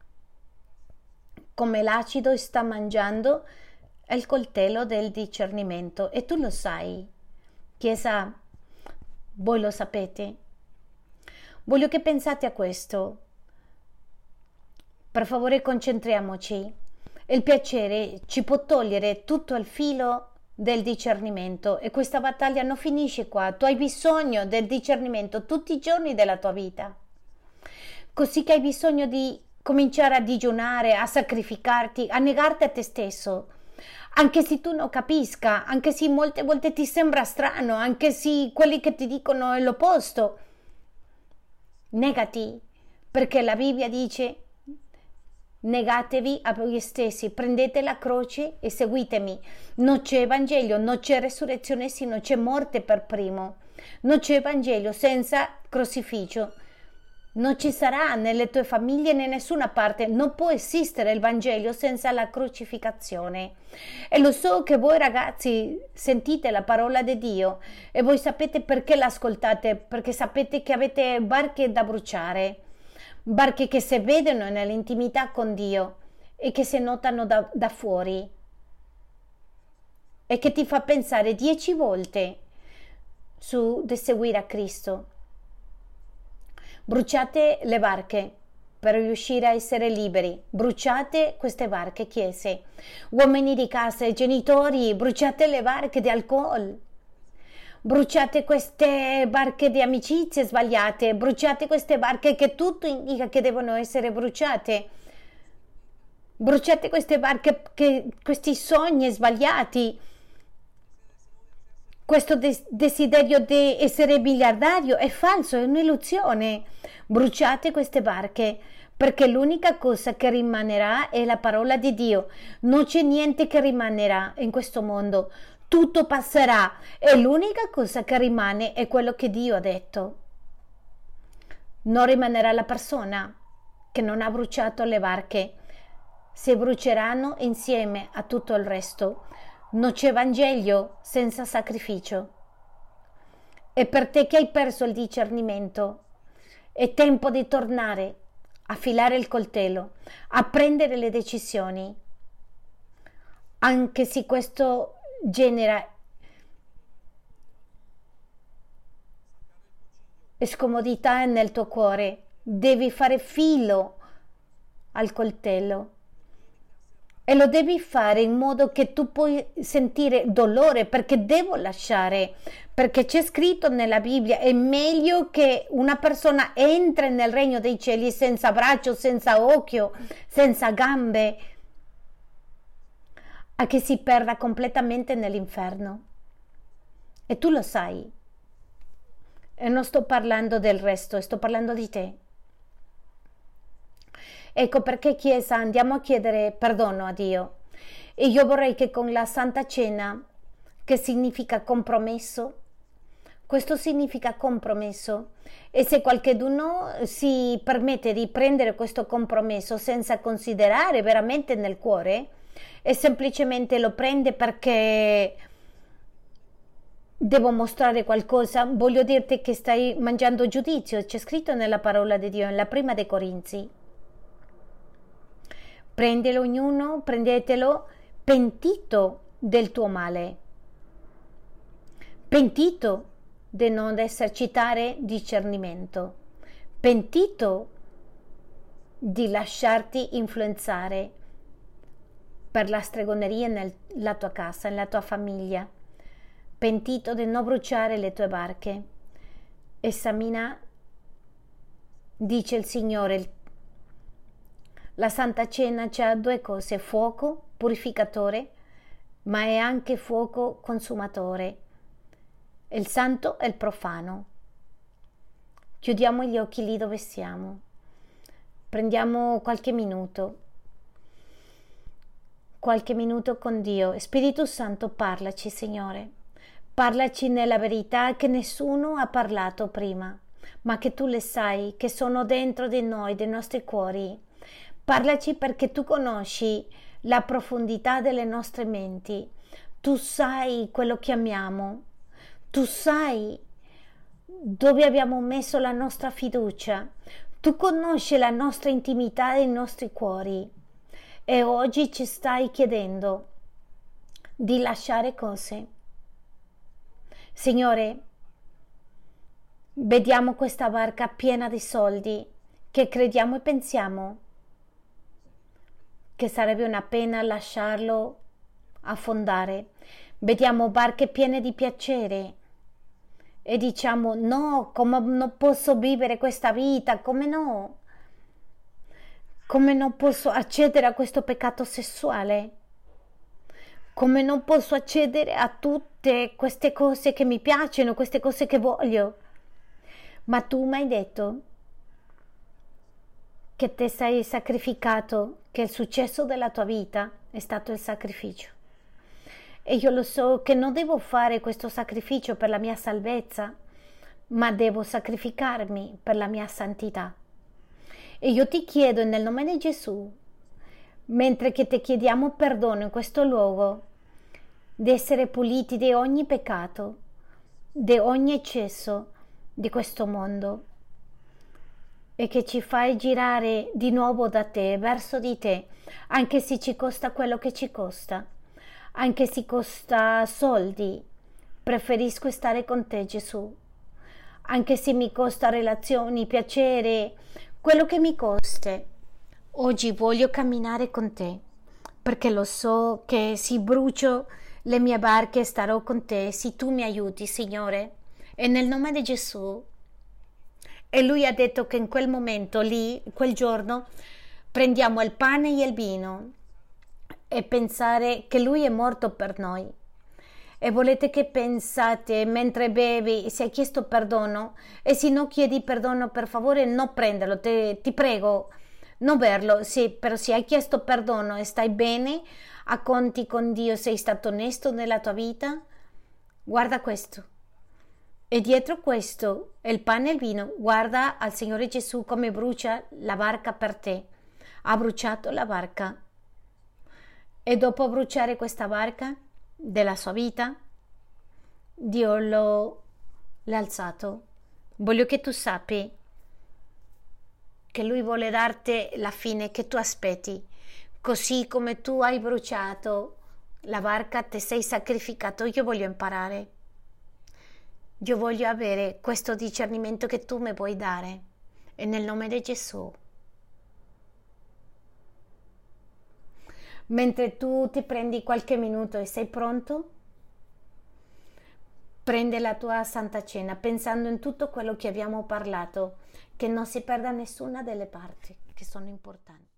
S1: come l'acido, sta mangiando il coltello del discernimento. E tu lo sai, Chiesa, voi lo sapete. Voglio che pensate a questo. Per favore, concentriamoci. Il piacere ci può togliere tutto il filo del discernimento e questa battaglia non finisce qua. Tu hai bisogno del discernimento tutti i giorni della tua vita. Così che hai bisogno di cominciare a digiunare, a sacrificarti, a negarti a te stesso. Anche se tu non capisca, anche se molte volte ti sembra strano, anche se quelli che ti dicono è l'opposto. Negati, perché la Bibbia dice: negatevi a voi stessi, prendete la croce e seguitemi. Non c'è Vangelo, non c'è resurrezione se non c'è morte per primo. Non c'è Vangelo senza crocifisso. Non ci sarà nelle tue famiglie né nessuna parte, non può esistere il Vangelo senza la crocificazione. E lo so che voi ragazzi sentite la parola di Dio e voi sapete perché l'ascoltate, perché sapete che avete barche da bruciare, barche che si vedono nell'intimità con Dio e che si notano da fuori e che ti fa pensare 10 volte su di seguire a Cristo. Bruciate le barche per riuscire a essere liberi. Bruciate queste barche, chiese. Uomini di casa e genitori, bruciate le barche di alcol. Bruciate queste barche di amicizie sbagliate. Bruciate queste barche che tutto indica che devono essere bruciate. Bruciate queste barche, questi sogni sbagliati. Questo desiderio di essere miliardario è falso, è un'illusione. Bruciate queste barche, perché l'unica cosa che rimanerà è la parola di Dio. Non c'è niente che rimanerà in questo mondo. Tutto passerà e l'unica cosa che rimane è quello che Dio ha detto. Non rimanerà la persona che non ha bruciato le barche. Si bruceranno insieme a tutto il resto. Non c'è Vangelo senza sacrificio. E per te che hai perso il discernimento, è tempo di tornare a filare il coltello, a prendere le decisioni, anche se questo genera scomodità nel tuo cuore. Devi fare filo al coltello. E lo devi fare in modo che tu puoi sentire dolore, perché devo lasciare, perché c'è scritto nella Bibbia: è meglio che una persona entri nel regno dei cieli senza braccio, senza occhio, senza gambe, a che si perda completamente nell'inferno. E tu lo sai. E non sto parlando del resto, sto parlando di te. Ecco perché, Chiesa, andiamo a chiedere perdono a Dio. E io vorrei che con la Santa Cena, che significa compromesso, questo significa compromesso, e se qualcuno si permette di prendere questo compromesso senza considerare veramente nel cuore e semplicemente lo prende perché devo mostrare qualcosa, voglio dirti che stai mangiando giudizio. C'è scritto nella parola di Dio, nella prima dei Corinzi: prendelo ognuno, prendetelo pentito del tuo male, pentito di non esercitare discernimento, pentito di lasciarti influenzare per la stregoneria nella tua casa, nella tua famiglia, pentito di non bruciare le tue barche. Esamina, dice il Signore. La Santa Cena c'ha 2 cose: fuoco purificatore, ma è anche fuoco consumatore. Il santo e il profano. Chiudiamo gli occhi lì dove siamo. Prendiamo qualche minuto con Dio. Spirito Santo, parlaci, Signore. Parlaci nella verità che nessuno ha parlato prima, ma che tu le sai, che sono dentro di noi, dei nostri cuori. Parlaci perché tu conosci la profondità delle nostre menti. Tu sai quello che amiamo. Tu sai dove abbiamo messo la nostra fiducia. Tu conosci la nostra intimità e i nostri cuori. E oggi ci stai chiedendo di lasciare cose. Signore, vediamo questa barca piena di soldi che crediamo e pensiamo che sarebbe una pena lasciarlo affondare. Vediamo barche piene di piacere e diciamo no, come non posso vivere questa vita, come no? Come non posso accedere a questo peccato sessuale? Come non posso accedere a tutte queste cose che mi piacciono, queste cose che voglio? Ma tu mi hai detto che ti sei sacrificato, che il successo della tua vita è stato il sacrificio. E io lo so che non devo fare questo sacrificio per la mia salvezza, ma devo sacrificarmi per la mia santità. E io ti chiedo nel nome di Gesù, mentre che ti chiediamo perdono in questo luogo, di essere puliti di ogni peccato, di ogni eccesso di questo mondo, e che ci fai girare di nuovo da te, verso di te, anche se ci costa quello che ci costa, anche se costa soldi. Preferisco stare con te, Gesù, anche se mi costa relazioni, piacere, quello che mi costa. Oggi voglio camminare con te, perché lo so che se brucio le mie barche starò con te, se tu mi aiuti, Signore, e nel nome di Gesù. E lui ha detto che in quel momento lì, quel giorno, prendiamo il pane e il vino e pensare che lui è morto per noi. E volete che pensate mentre bevi, se hai chiesto perdono, e se non chiedi perdono, per favore non prenderlo, ti prego, non berlo. Sì, però se hai chiesto perdono e stai bene, a conti con Dio, sei stato onesto nella tua vita, guarda questo. E dietro questo, il pane e il vino, guarda al Signore Gesù come brucia la barca per te. Ha bruciato la barca. E dopo bruciare questa barca della sua vita, Dio l'ha alzato. Voglio che tu sappi che Lui vuole darti la fine che tu aspetti. Così come tu hai bruciato la barca, ti sei sacrificato, io voglio imparare. Io voglio avere questo discernimento che tu mi puoi dare. E nel nome di Gesù. Mentre tu ti prendi qualche minuto e sei pronto, prende la tua Santa Cena pensando in tutto quello che abbiamo parlato, che non si perda nessuna delle parti che sono importanti.